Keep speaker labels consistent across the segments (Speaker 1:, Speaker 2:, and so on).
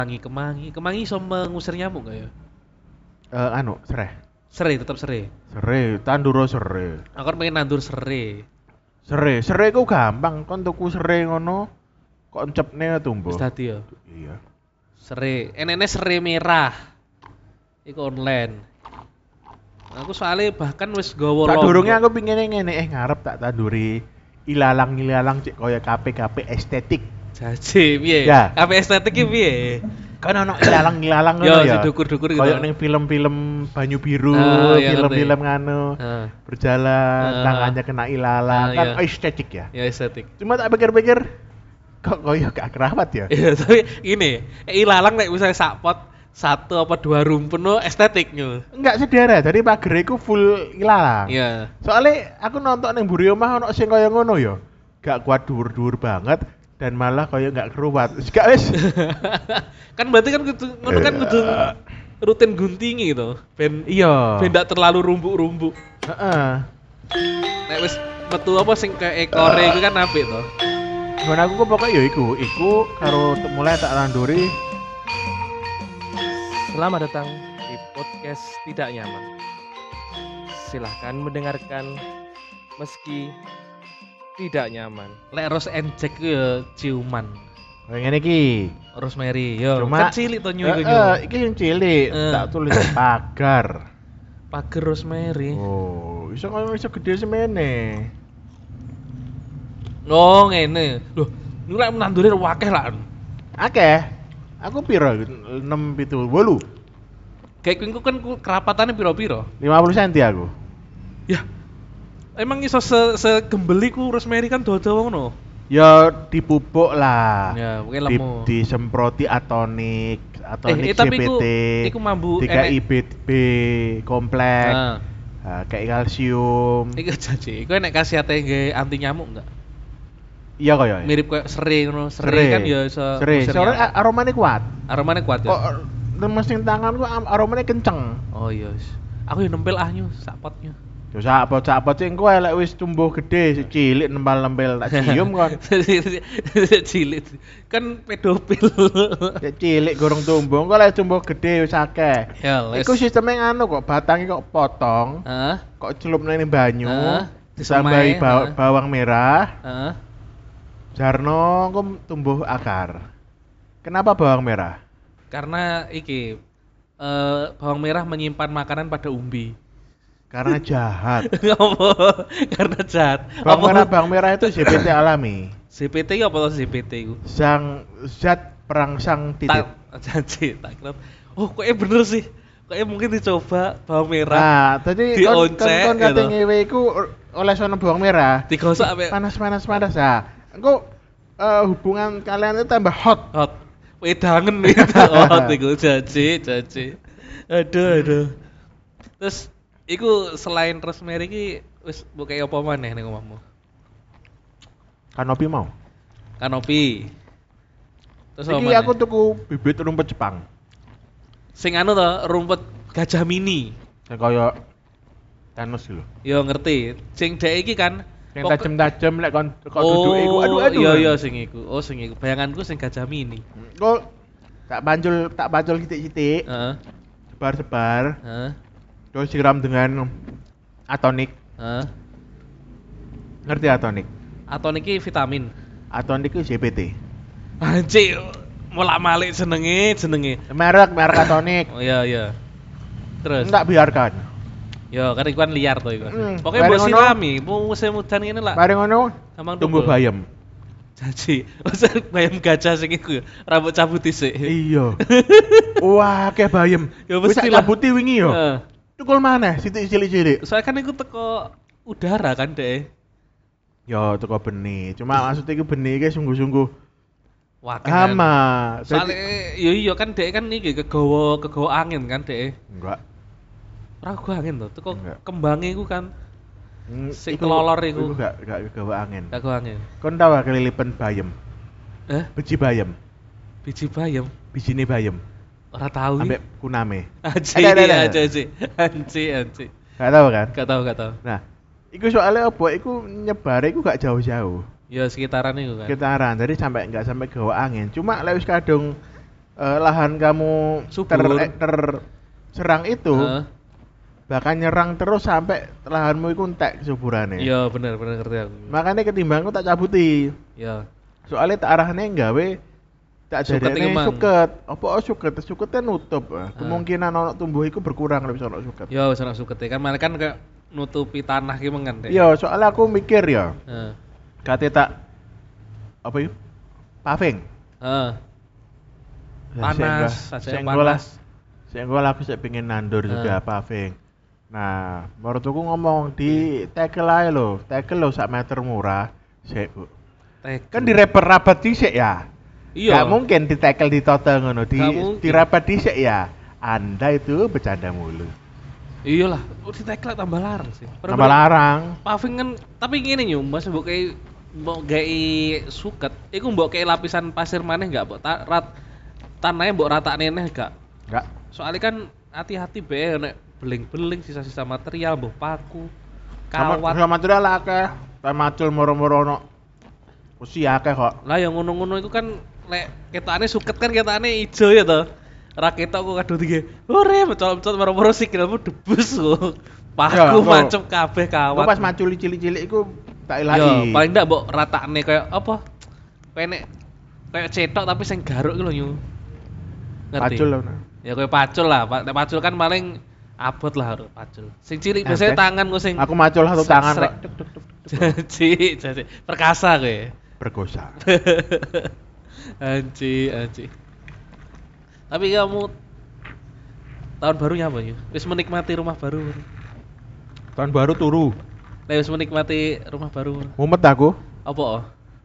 Speaker 1: Kemangi iso mengusir nyamuk gak ya?
Speaker 2: Sereh.
Speaker 1: Serai, tetap serai.
Speaker 2: Serai, tanduro serai.
Speaker 1: Aku kan pengen nandur serai.
Speaker 2: Serai ku gampang, kon tuku serai ngono, kok encepne tumbuh.
Speaker 1: Wis dadi ya.
Speaker 2: Iya.
Speaker 1: Serai, enene serai merah. Iku online. Aku soalnya bahkan wis gawa
Speaker 2: Tak
Speaker 1: lombok.
Speaker 2: durunge aku pingine ngene, ngarep tak tanduri ilalang cek kaya KP estetik.
Speaker 1: Jaji piye?
Speaker 2: Ya.
Speaker 1: Kabeh estetik ki piye?
Speaker 2: Kan ono ilalang
Speaker 1: Yo
Speaker 2: ngono
Speaker 1: si
Speaker 2: ya.
Speaker 1: dukur-dukur gitu.
Speaker 2: Kayak ning film-film banyu biru,
Speaker 1: Ya
Speaker 2: film-film
Speaker 1: ngerti.
Speaker 2: nganu.
Speaker 1: Heeh.
Speaker 2: Berjalan, tangannya kena ilalang, kan
Speaker 1: Iya.
Speaker 2: estetik ya.
Speaker 1: Ya estetik.
Speaker 2: Cuma tak pikir-pikir kok koyo gak kerawat ya.
Speaker 1: Iya, tapi ini ilalang nek misalnya sak pot satu apa dua rumpun lo estetiknya.
Speaker 2: Enggak sedara, jadi pager iku full ilalang.
Speaker 1: Iya.
Speaker 2: Soalnya aku nonton ning mburi omah ono sing kaya ngono ya. Gak kuat dhuwur-dhuwur banget dan malah kaya gak keruwat. Gak wis.
Speaker 1: Kan berarti kan kudu ngono kan kudu rutin guntingi gitu.
Speaker 2: Iya.
Speaker 1: Ben ndak terlalu rumbuk-rumbuk.
Speaker 2: Heeh.
Speaker 1: Nek wis metu apa sing ke ekore iku kan apik to.
Speaker 2: Gimana aku kok pokoknya ya iku karo mulai tak landuri.
Speaker 3: Selamat datang di podcast Tidak Nyaman. Silahkan mendengarkan meski tidak nyaman.
Speaker 1: Lek Rose and Jack ku ya ciuman.
Speaker 2: Kayak ngene iki.
Speaker 1: Rosemary yo.
Speaker 2: Cuma
Speaker 1: Kan cilik to nyu iku nyu.
Speaker 2: iki sing cilik, tak tulis pagar.
Speaker 1: Pager Rosemary.
Speaker 2: Oh, iso gede semene.
Speaker 1: Oh, ngene. Loh, niku lek nandure wakeh lah.
Speaker 2: Akeh. Aku piro? 6 7 8.
Speaker 1: Kayak kuwi kan kerapatannya piro-piro.
Speaker 2: 50 cm aku.
Speaker 1: Ya. Emang iso segembeli ku Rosemary kan dawa-dawa ngono.
Speaker 2: Ya dipupuk lah.
Speaker 1: Ya, mungkin lemu.
Speaker 2: Disemproti atonik
Speaker 1: tapi
Speaker 2: CPT.
Speaker 1: iku mambu
Speaker 2: DKI B kompleks.
Speaker 1: Nah,
Speaker 2: Kayak kalsium.
Speaker 1: iku janji. Iku nek khasiate ngge anti nyamuk enggak?
Speaker 2: Iya kaya.
Speaker 1: Mirip kayak serai ngono. Serai kan ya iso.
Speaker 2: Serai.
Speaker 1: ngusir
Speaker 2: Soalnya
Speaker 1: nyamuk.
Speaker 2: aromanya kuat.
Speaker 1: Aromanya kuat ya.
Speaker 2: Kok lemes ning tanganku aromanya kenceng.
Speaker 1: Oh iya. Aku yo nempel ahnya sak potnya.
Speaker 2: Yo sapot sing kowe lek wis tumbuh gede cilik nempel-nempel tak cium kon.
Speaker 1: Cilik. Kan pedofil.
Speaker 2: Cek cilik gorong tumbuh, kok lek tumbuh gede wis akeh.
Speaker 1: Ya, les.
Speaker 2: Iku sistemnya nganu kok, batangnya kok potong,
Speaker 1: Heeh.
Speaker 2: kok celupne ning banyu,
Speaker 1: Disemai,
Speaker 2: ditambahi bawang merah,
Speaker 1: Heeh.
Speaker 2: jarno kok tumbuh akar. Kenapa bawang merah?
Speaker 1: Karena iki bawang merah menyimpan makanan pada umbi.
Speaker 2: Karena jahat.
Speaker 1: Apa? Karena jahat.
Speaker 2: Bawang merah itu ZPT alami.
Speaker 1: CPT apa tuh CPT itu?
Speaker 2: Zat perangsang titik.
Speaker 1: Janji, tak kira. Oh, kok bener sih. Kok mungkin dicoba bawang merah.
Speaker 2: Nah, tadi
Speaker 1: dioncek
Speaker 2: kon kate
Speaker 1: gitu.
Speaker 2: ngewe iku oleh sono bawang merah.
Speaker 1: Digosok sampai
Speaker 2: Panas. Ah, engko hubungan kalian itu tambah hot.
Speaker 1: hot. Wedangen hot iku janji. Aduh. Terus iku selain rosemary iki wis mbok kaya apa maneh ning omahmu?
Speaker 2: Kanopi mau.
Speaker 1: Kanopi. Terus apa
Speaker 2: Iki
Speaker 1: maneh?
Speaker 2: aku tuku bibit rumput Jepang.
Speaker 1: Sing anu to, rumput gajah mini.
Speaker 2: Sing kaya Thanos lho.
Speaker 1: Yo ngerti. Sing dek iki kan
Speaker 2: Yang
Speaker 1: pokok-
Speaker 2: tajem-tajem lek kon duduk iku aduh.
Speaker 1: Iya sing iku. Oh sing iku. Bayanganku sing gajah mini.
Speaker 2: Kok tak pancul titik-titik,
Speaker 1: Heeh.
Speaker 2: sebar-sebar,
Speaker 1: Heeh.
Speaker 2: terus siram dengan atonik.
Speaker 1: Heeh.
Speaker 2: Ngerti atonik?
Speaker 1: Atau niki vitamin.
Speaker 2: Atonik itu ZPT.
Speaker 1: Anjir, molak-malik jenenge.
Speaker 2: Merek atonik.
Speaker 1: Oh iya. Terus.
Speaker 2: Enggak biarkan.
Speaker 1: Yo, kan iku kan liar to iku. Pokoknya
Speaker 2: bareng
Speaker 1: mbok
Speaker 2: ngono-
Speaker 1: sirami, musim udan ngene lah.
Speaker 2: Bareng ngono
Speaker 1: Gampang
Speaker 2: tumbuh
Speaker 1: tumbuh.
Speaker 2: bayam.
Speaker 1: Janji. Masa bayam gajah sing iku ya, rambut cabut dhisik.
Speaker 2: Iya. Wah, kayak bayam.
Speaker 1: Ya
Speaker 2: Wis
Speaker 1: mesti
Speaker 2: tak
Speaker 1: lah.
Speaker 2: cabuti wingi yo.
Speaker 1: Heeh.
Speaker 2: Tukul maneh sithik cilik-cilik.
Speaker 1: Soalnya kan iku teko udara kan deh.
Speaker 2: Yo teko benih. Cuma maksudnya iku benih iki sungguh-sungguh
Speaker 1: Wakil. kan.
Speaker 2: hama.
Speaker 1: Soalnya iya kan dek kan iki kegawa angin kan dek.
Speaker 2: Enggak.
Speaker 1: Ora kegawa angin to, teko
Speaker 2: Enggak.
Speaker 1: kembange iku kan Sing
Speaker 2: Iku-
Speaker 1: kelolor iku.
Speaker 2: Iku gak kegawa angin.
Speaker 1: gak kegawa angin.
Speaker 2: Kon tau gak kelilipan bayam? Biji bayam.
Speaker 1: Biji bayam.
Speaker 2: Bijine bayam.
Speaker 1: Ora tahu.
Speaker 2: Ambek kuname.
Speaker 1: Anci. Anci.
Speaker 2: Gak tau kan?
Speaker 1: Gak tahu.
Speaker 2: Nah, iku soalnya apa? Iku nyebare iku gak jauh-jauh.
Speaker 1: Ya sekitaran itu kan.
Speaker 2: Sekitaran, jadi nggak sampai gawa angin. Cuma lek wis kadung lahan kamu
Speaker 1: Subur.
Speaker 2: terserang itu
Speaker 1: Heeh.
Speaker 2: bakal nyerang terus sampai lahanmu itu entek kesuburannya.
Speaker 1: Iya bener ngerti aku.
Speaker 2: Makanya ketimbang aku tak cabuti.
Speaker 1: Iya.
Speaker 2: Soalnya tak arahnya nggawe tak
Speaker 1: Suket
Speaker 2: jadinya
Speaker 1: iki mang.
Speaker 2: suket. Apa suket? Suketnya nutup. Kemungkinan ono tumbuh itu berkurang lebih ono suket.
Speaker 1: Yo wis ana sukete kan malah kan kayak nutupi tanah ki mengen deh.
Speaker 2: Iya, soalnya aku mikir ya,
Speaker 1: Heeh.
Speaker 2: kate tak apa itu? Paving.
Speaker 1: Heeh.
Speaker 2: Nah,
Speaker 1: Panas, saja
Speaker 2: sehingga lah,
Speaker 1: panas.
Speaker 2: sehingga aku saya pengen nandur juga
Speaker 1: Ah.
Speaker 2: paving. Nah, menurutku ngomong di tackle aja lo, tackle lo sak meter murah, sih bu. Kan direpet-rapet dhisik ya.
Speaker 1: Iya.
Speaker 2: Gak mungkin di tackle di total ngono,
Speaker 1: Gak mungkin.
Speaker 2: direpet dhisik ya. Anda itu bercanda mulu.
Speaker 1: Iyalah, di teklek tambah larang sih.
Speaker 2: Tambah larang.
Speaker 1: Paving kan tapi ngene yo, Mas mbok kayak mbok gawe suket, iku mbok kayak lapisan pasir maneh enggak, mbok tanahnya mbok ratakne neh gak.
Speaker 2: Enggak.
Speaker 1: Soalnya kan hati-hati be nek beling-beling sisa-sisa material mbok paku,
Speaker 2: Sama
Speaker 1: kawat.
Speaker 2: material akeh. Macul moro-moro ono. Usi akeh kok.
Speaker 1: Lah yang ngono-ngono itu kan lek ketane suket kan ketane ijo ya toh. Ra ketok kok kadung tinggi. Ore mencol-mencol moro-moro sikilmu debus kok.
Speaker 2: Ya,
Speaker 1: Paku
Speaker 2: kok.
Speaker 1: macem kabeh
Speaker 2: Aku
Speaker 1: kawat.
Speaker 2: pas maculi cilik-cilik iku tak
Speaker 1: Yo,
Speaker 2: ilahi.
Speaker 1: paling ndak mbok ratakne kayak apa? Kayak kayak cetok tapi sing garuk iki lho Yu. Ngerti?
Speaker 2: Macul lho.
Speaker 1: Ya kayak pacul lah. Nek pacul kan paling abot lah harus pacul. Sing cilik
Speaker 2: Nah,
Speaker 1: biasanya
Speaker 2: Tek.
Speaker 1: tangan ku sing
Speaker 2: Aku macul satu
Speaker 1: srek-
Speaker 2: tangan
Speaker 1: srek.
Speaker 2: kok.
Speaker 1: Jaji. Perkasa kowe.
Speaker 2: Bergosa.
Speaker 1: Anji. Tapi kamu tahun barunya apa ya? Wis menikmati rumah baru.
Speaker 2: Tahun baru turu.
Speaker 1: Wis menikmati rumah baru.
Speaker 2: Mumet aku.
Speaker 1: Apa?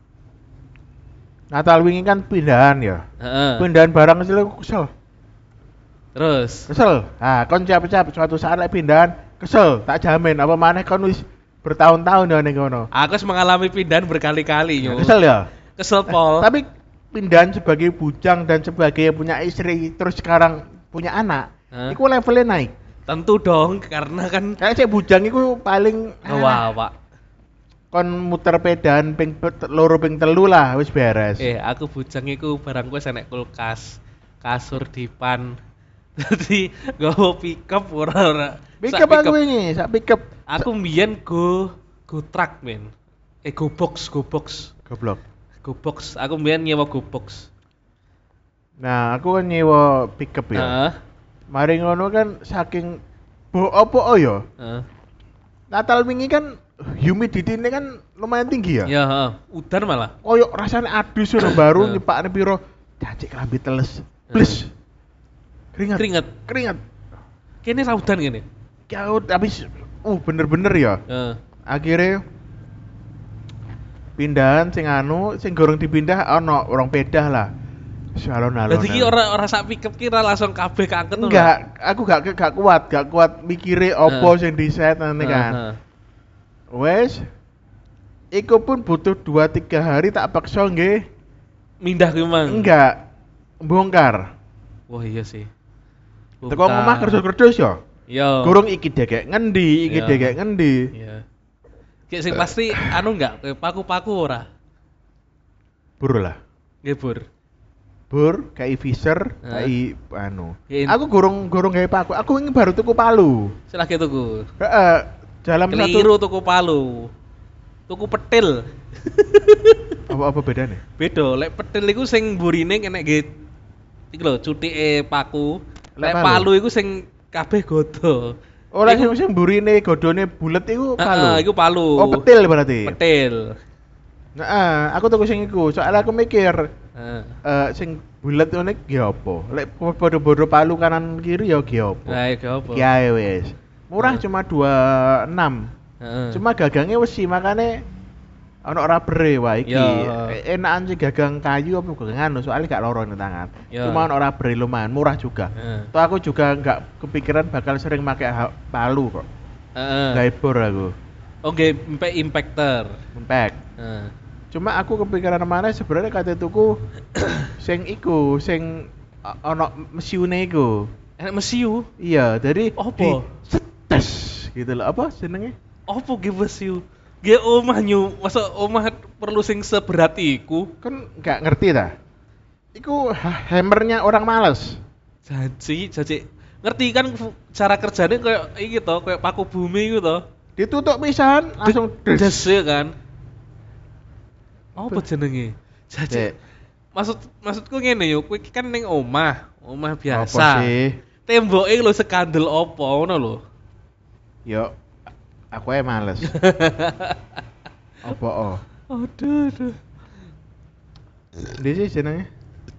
Speaker 2: Natal wingi kan pindahan ya.
Speaker 1: Heeh.
Speaker 2: Pindahan barang kecil aku kesel.
Speaker 1: Terus
Speaker 2: Kesel. Nah, kon capek-capek suatu saat lek pindahan kesel, tak jamin apa maneh kon wis bertahun-tahun ya ning kono.
Speaker 1: aku wis mengalami pindahan berkali-kali yo.
Speaker 2: Kesel ya.
Speaker 1: Kesel pol.
Speaker 2: Tapi pindahan sebagai bujang dan sebagai punya istri terus sekarang punya anak,
Speaker 1: Hah?
Speaker 2: iku levelnya naik.
Speaker 1: Tentu dong karena kan
Speaker 2: Kayak saya bujang iku paling
Speaker 1: wah, Pak.
Speaker 2: kon muter pedan ping loro ping telu lah wis beres.
Speaker 1: Aku bujang iku barang gue enek kulkas, kasur dipan. Jadi gowo pickup ora.
Speaker 2: Pick up aku ini, sak pick up.
Speaker 1: Aku mbiyen go truck men. Go box.
Speaker 2: Goblok.
Speaker 1: Go box. Aku mbiyen nyewa go box.
Speaker 2: Nah, aku kan nyewa pick up ya.
Speaker 1: Heeh.
Speaker 2: Mari ngono kan saking opo ya.
Speaker 1: Heeh.
Speaker 2: Natal wingi kan humidity ini kan lumayan tinggi ya.
Speaker 1: Ya, heeh. Udan malah.
Speaker 2: Koyok rasanya adus udah baru
Speaker 1: Heeh.
Speaker 2: nyepakne piro. Cacik kelambi teles. Plus. Keringat.
Speaker 1: Keringat. Kene ra udan kene.
Speaker 2: Kau tapi bener-bener ya.
Speaker 1: Heeh.
Speaker 2: Akhirnya pindahan sing gorong dipindah ono orang pedah lah. Alon-alon.
Speaker 1: Berarti ki ora sak pickup ki ra langsung kabeh keangket ngono.
Speaker 2: Enggak, aku gak kuat mikire opo sing di-set nanti kan.
Speaker 1: Heeh.
Speaker 2: Wes iku pun butuh 2-3 hari tak paksa nggih.
Speaker 1: Mindah ki mang.
Speaker 2: Enggak bongkar.
Speaker 1: Wah iya sih.
Speaker 2: Teko omah kerdos-kerdos ya.
Speaker 1: Yo.
Speaker 2: Gurung iki degek ngendi, iki
Speaker 1: Iya.
Speaker 2: degek ngendi.
Speaker 1: Iya. Kayak sing pasti anu enggak kayak paku-paku ora.
Speaker 2: Bur lah.
Speaker 1: Nggih, Bur.
Speaker 2: Bur, kayak Fisher,
Speaker 1: Hah?
Speaker 2: kayak anu.
Speaker 1: Ya,
Speaker 2: Aku gurung gawe paku. Aku ingin baru tuku palu.
Speaker 1: Silahke tuku.
Speaker 2: Heeh. Dalam
Speaker 1: Keliru tuku palu. Tuku petil.
Speaker 2: apa bedanya?
Speaker 1: Beda, lek petil iku sing burine kena nggih iki lho cutike paku.
Speaker 2: Lek
Speaker 1: Lek
Speaker 2: palu
Speaker 1: palu iku sing kabeh godo.
Speaker 2: Ora
Speaker 1: Iku-
Speaker 2: sing burine godone bulet iku palu.
Speaker 1: Heeh, iku palu.
Speaker 2: Oh, petil berarti.
Speaker 1: Petil.
Speaker 2: Nah, aku tuku sing iku. Soalnya aku mikir
Speaker 1: Heeh.
Speaker 2: sing bulet ngene ki apa? Lek padha-padha palu kanan kiri ya ki apa?
Speaker 1: Lah iki apa?
Speaker 2: Ki ae wis. Murah
Speaker 1: Heeh.
Speaker 2: cuma 26.
Speaker 1: Heeh.
Speaker 2: Cuma gagangnya wesi makane ono rabere wah iki.
Speaker 1: Ya.
Speaker 2: Enakan sih gagang kayu apa gagang anu soalnya gak loro ning tangan.
Speaker 1: Ya.
Speaker 2: Cuma ono rabere lumayan murah juga.
Speaker 1: Heeh.
Speaker 2: Toh aku juga nggak kepikiran bakal sering pakai palu kok.
Speaker 1: Heeh.
Speaker 2: Gawe bor aku.
Speaker 1: Oh, nggih impactor.
Speaker 2: Impact.
Speaker 1: Heeh.
Speaker 2: Cuma aku kepikiran mana sebenarnya kate tuku sing iku sing ono mesiune iku.
Speaker 1: Enak mesiu.
Speaker 2: Iya, jadi
Speaker 1: Apa?
Speaker 2: di setes gitu loh. Apa jenenge?
Speaker 1: Apa ge mesiu? Ge omah nyu, masa omah perlu sing seberat iku?
Speaker 2: Kan nggak ngerti ta? iku hammernya orang malas.
Speaker 1: Janji. Ngerti kan cara kerjanya kayak iki to, kayak paku bumi gitu to.
Speaker 2: Ditutup pisan langsung
Speaker 1: Des ya kan. Apa jenenge? Janji.
Speaker 2: Cek,
Speaker 1: Maksudku ngene yo, kowe iki kan ning omah
Speaker 2: apa
Speaker 1: biasa.
Speaker 2: sih?
Speaker 1: Temboke lho sekandel apa ngono lho.
Speaker 2: Yo aku ae males. Apa oh?
Speaker 1: Aduh.
Speaker 2: Ndi sih jenenge?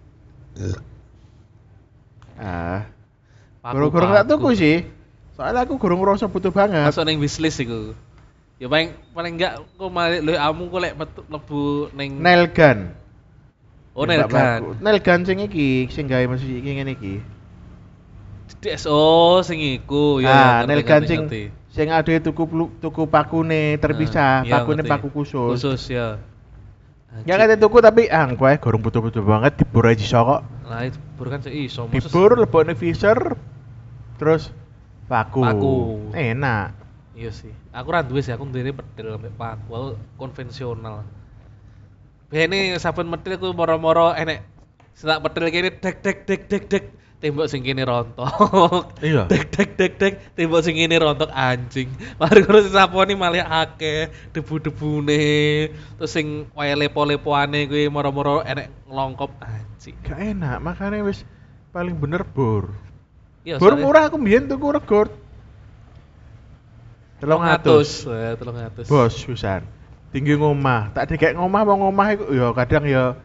Speaker 2: Gurung-gurung tak tuku sih. Soalnya aku gurung ngerasa butuh banget.
Speaker 1: Masuk ning wishlist iku. Ya paling enggak kok malah lho amu kok lek mlebu ning
Speaker 2: Nail gun.
Speaker 1: Oh nail gun.
Speaker 2: Nail gun sing iki, sing gawe mesin iki ngene iki.
Speaker 1: Oh sing iku ya.
Speaker 2: Nail gun sing ade tuku pakune terpisah,
Speaker 1: Iya,
Speaker 2: pakune
Speaker 1: ngerti.
Speaker 2: paku khusus.
Speaker 1: Khusus ya.
Speaker 2: Ya kate tuku tapi kowe gurung butuh-butuh banget dibur aja iso kok.
Speaker 1: Lah itu bur kan iso
Speaker 2: Dibur lebokne visor terus paku. Enak.
Speaker 1: Iya sih. Aku ra duwe sih, aku ndene pedhel sampe paku. Aku konvensional. Bene saben medhil aku moro-moro enek setak pedhel kene dek tembok sing kene rontok.
Speaker 2: Iya.
Speaker 1: Dek tembok sing kene rontok anjing. Mari ngono saponi malah akeh debu-debune. Terus sing wae lepo-lepoane kuwi moro-moro enek nglongkop anjing.
Speaker 2: Gak enak, makanya wis paling bener bor.
Speaker 1: Iya,
Speaker 2: Bor
Speaker 1: soalnya-
Speaker 2: murah aku mbiyen tuku regor. 300.
Speaker 1: 300.
Speaker 2: Bos pisan. Tinggi ngomah, tak dikek ngomah wong ngomah iku ya kadang ya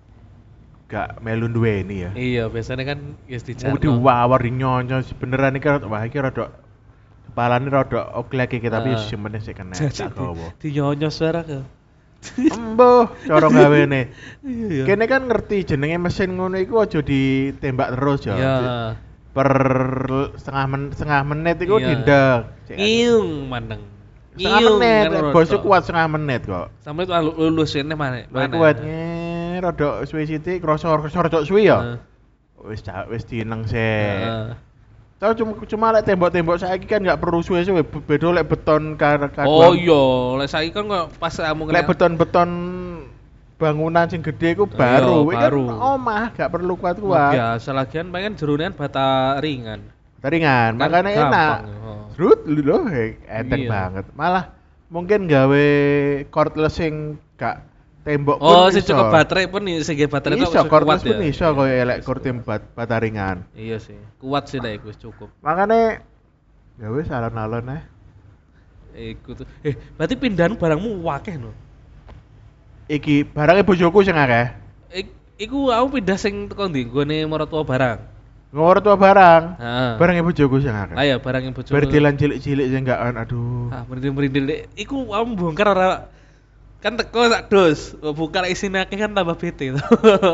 Speaker 2: gak melu duweni ya.
Speaker 1: Iya, biasanya kan ya
Speaker 2: Mau
Speaker 1: dijarno.
Speaker 2: diwawar di nyonyo beneran iki wah iki rada kepalane rada oglek iki tapi
Speaker 1: Ah.
Speaker 2: sing penting sik kena
Speaker 1: Jadi
Speaker 2: tak gowo.
Speaker 1: dinyonyos suara ke.
Speaker 2: Embuh, cara gawene.
Speaker 1: Iya.
Speaker 2: Kene kan ngerti jenenge mesin ngono iku aja ditembak terus ya.
Speaker 1: Iya.
Speaker 2: Per setengah menit iku
Speaker 1: Iya.
Speaker 2: dindek.
Speaker 1: Ngiung maneng.
Speaker 2: Setengah menit,
Speaker 1: kan
Speaker 2: bosku
Speaker 1: rotok.
Speaker 2: kuat setengah menit kok.
Speaker 1: Sampai itu lulus ini mana?
Speaker 2: Luwih kuat rada suwi sithik krasa rada suwi ya. Wis dineng sik.
Speaker 1: Heeh.
Speaker 2: Tau cuma lek tembok-tembok saiki kan nggak perlu suwe-suwe, beda lek beton
Speaker 1: Oh iya, lek saiki kan kok pas kamu
Speaker 2: lek beton-beton bangunan sing gede iku baru,
Speaker 1: Iya,
Speaker 2: iki
Speaker 1: baru.
Speaker 2: kan omah gak perlu
Speaker 1: Wah,
Speaker 2: kuat-kuat.
Speaker 1: biasa lagian pengen jerunian bata ringan.
Speaker 2: Ringan,
Speaker 1: Kan
Speaker 2: makanya enak.
Speaker 1: gampang, oh.
Speaker 2: Serut lho, enteng
Speaker 1: Iya.
Speaker 2: banget. Malah mungkin gawe cordless sing gak tembok
Speaker 1: Oh,
Speaker 2: pun
Speaker 1: sing
Speaker 2: iso.
Speaker 1: cukup baterai pun sing baterai kok
Speaker 2: Iso
Speaker 1: wis
Speaker 2: cordless
Speaker 1: kuat
Speaker 2: pun
Speaker 1: ya.
Speaker 2: iso koyo elek kurtim bata ringan.
Speaker 1: Iya sih, kuat sih lah iku wis cukup.
Speaker 2: Makanya ya wis alon-alon
Speaker 1: Iku tuh. Berarti pindahan barangmu wakeh no.
Speaker 2: Iki barangnya bojoku sing akeh.
Speaker 1: Iku aku pindah sing teko ndi nggone maratuwa barang.
Speaker 2: Ngawur tua barang.
Speaker 1: Heeh.
Speaker 2: Barangnya bojoku sing akeh.
Speaker 1: Lah ya barang yang bojo.
Speaker 2: Berdilan cilik-cilik sing gak aduh.
Speaker 1: Ah, merindil-merindil dek. Iku kamu bongkar ora kan teko sak dos. Buka isine akeh kan tambah bete to.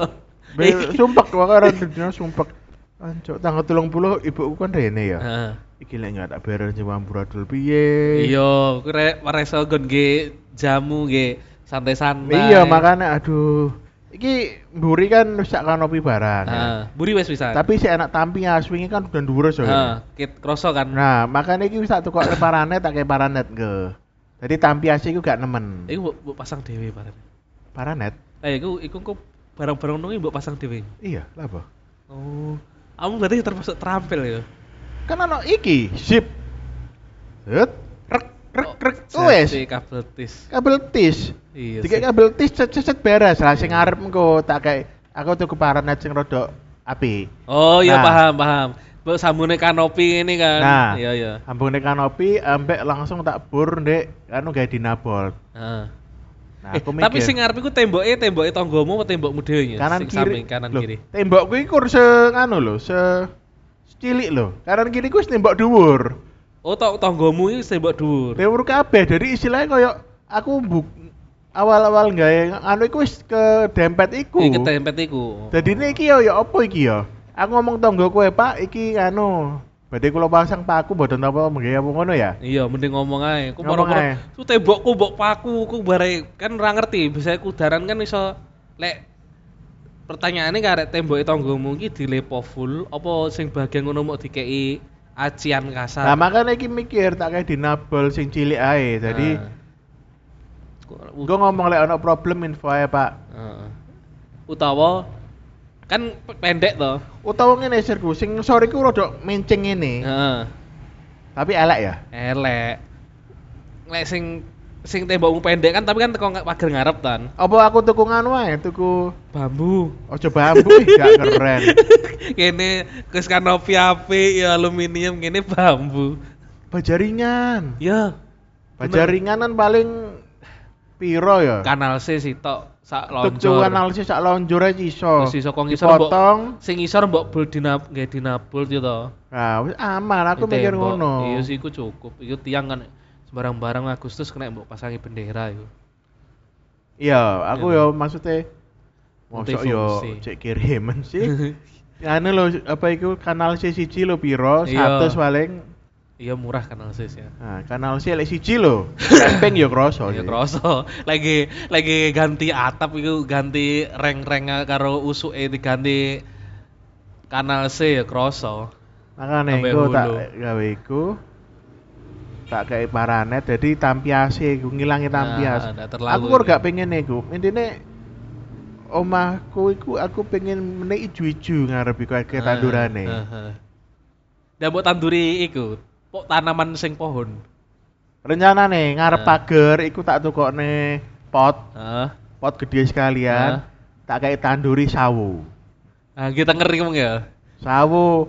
Speaker 2: Sumpek wakaran dunia sumpek. Ancuk tanggal 30 ibuku kan rene ya.
Speaker 1: Heeh.
Speaker 2: Iki lek nggak tak beres nyewa amburadul piye.
Speaker 1: Iya, ku rek reso gon ge jamu ge santai-santai.
Speaker 2: Iya makanya aduh. Iki mburi kan wis sak kanopi barang. Ya.
Speaker 1: Heeh, buri wis pisan.
Speaker 2: Tapi si anak tampi aswingi kan udah dhuwur so.
Speaker 1: Heeh, kit kroso kan.
Speaker 2: Nah, makanya iki wis tak tukok paranet tak kayak paranet ke. Jadi tampi asli iku gak nemen.
Speaker 1: Iku mbok pasang dhewe bareng.
Speaker 2: Paranet?
Speaker 1: Lah iku kok barang-barang nungi mbok pasang dhewe.
Speaker 2: Iya, lah apa?
Speaker 1: Oh. Kamu berarti termasuk terampil ya.
Speaker 2: Kan ono iki, zip. Set, rek
Speaker 1: Oh,
Speaker 2: wes.
Speaker 1: jadi kabel tis.
Speaker 2: Kabel tis.
Speaker 1: Iya.
Speaker 2: Dikek
Speaker 1: sih.
Speaker 2: kabel tis cet beres lah sing ngarep engko tak kayak aku tuku paranet sing rada api.
Speaker 1: Oh iya
Speaker 2: Nah.
Speaker 1: paham. Mbok sambune kanopi ini kan.
Speaker 2: Nah.
Speaker 1: Iya iya.
Speaker 2: Ambune kanopi ambek langsung tak bur ndek anu gawe dinabol.
Speaker 1: Heeh.
Speaker 2: Nah, aku
Speaker 1: Tapi
Speaker 2: mikir
Speaker 1: sing ngarep iku temboke tanggomu apa tembokmu dhewe ya?
Speaker 2: kanan
Speaker 1: Sing
Speaker 2: kiri.
Speaker 1: samping kanan
Speaker 2: Loh,
Speaker 1: kiri.
Speaker 2: Tembokku iki kur anu lho, cilik lho. Kanan kiri ku wis tembok dhuwur.
Speaker 1: Oh tanggomu iki tembok dhuwur.
Speaker 2: Dhuwur kabeh. Jadi istilahnya koyo aku awal-awal gawe anu iku wis ke dempet iku.
Speaker 1: Iki ketempet iku.
Speaker 2: Jadi ini iki ya apa iki ya? Aku ngomong tonggo kowe, Pak, iki anu. Badhe kula pasang paku mboten apa menggawe apa ngono ya?
Speaker 1: Iya, mending ngomong ae. Ku
Speaker 2: Ngomong
Speaker 1: moro-moro
Speaker 2: ae.
Speaker 1: ku tembokku mbok paku, ku bare kan ora ngerti. Biasanya kudaran kan iso lek pertanyaane karek temboke tanggomu iki dilepo full apa sing bagian ngono mok dikeki acian kasar.
Speaker 2: Nah, makanya iki mikir tak kayak dinabel sing cilik ae. Jadi
Speaker 1: Nah.
Speaker 2: gua ngomong lek ana problem info ae, Pak.
Speaker 1: Heeh. Utawa Kan pendek toh.
Speaker 2: Utawa ngene sirku, sing ngisor iku rada menceng ngene.
Speaker 1: Heeh.
Speaker 2: Tapi elek ya.
Speaker 1: Elek. Lek sing tembokmu pendek kan tapi kan teko pager ngarep tan.
Speaker 2: Apa aku tuku nganu ae, tuku
Speaker 1: Bambu.
Speaker 2: ojo bambu gak keren.
Speaker 1: Kene wis kanopi apik ya aluminium kene bambu.
Speaker 2: Baja ringan.
Speaker 1: Ya,
Speaker 2: Baja ringan kan paling piro ya?
Speaker 1: kanal C sitok sak
Speaker 2: Tuku
Speaker 1: lonjor.
Speaker 2: analisis sak lonjor ae iso.
Speaker 1: Terus iso kok ngisor mbok
Speaker 2: Dipotong.
Speaker 1: sing ngisor mbok bul nggih dinabul yo to.
Speaker 2: Nah, wis aman aku mikir
Speaker 1: Ditembok.
Speaker 2: ngono.
Speaker 1: Iya sih iku cukup. Iku tiang kan sembarang-barang Agustus kena mbok pasangi bendera iku.
Speaker 2: Iya, aku
Speaker 1: Iya.
Speaker 2: yo maksudnya mosok yo
Speaker 1: Multifungsi.
Speaker 2: cek kiriman sih. Anu lho, apa iku kanal C1 lho piro?
Speaker 1: Iya.
Speaker 2: 100 paling.
Speaker 1: Iya murah kanal sis ya.
Speaker 2: Nah, kanal C lek 1 lho. Ping yo kroso.
Speaker 1: Ya
Speaker 2: sih.
Speaker 1: kroso. Lagi ganti atap iku ganti reng-reng karo usuke diganti kanal C ya kroso.
Speaker 2: Makane
Speaker 1: Sampai
Speaker 2: iku tak
Speaker 1: hulu.
Speaker 2: gawe iku tak kayak paranet jadi tampiase iku ngilangi tampias.
Speaker 1: ndak terlalu
Speaker 2: Aku kok
Speaker 1: ya.
Speaker 2: gak pengen iku. Intine omahku iku aku pengen meneh ijo-ijo ngarep iku akeh tandurane.
Speaker 1: Dan mbok tanduri iku, pok tanaman sing pohon.
Speaker 2: Rencanane ngarep
Speaker 1: Nah.
Speaker 2: pager iku tak tukokne pot,
Speaker 1: Heeh.
Speaker 2: pot gede sekalian. Tak kayak tanduri sawo.
Speaker 1: Nah, kita ngeri ngomong ya.
Speaker 2: Sawo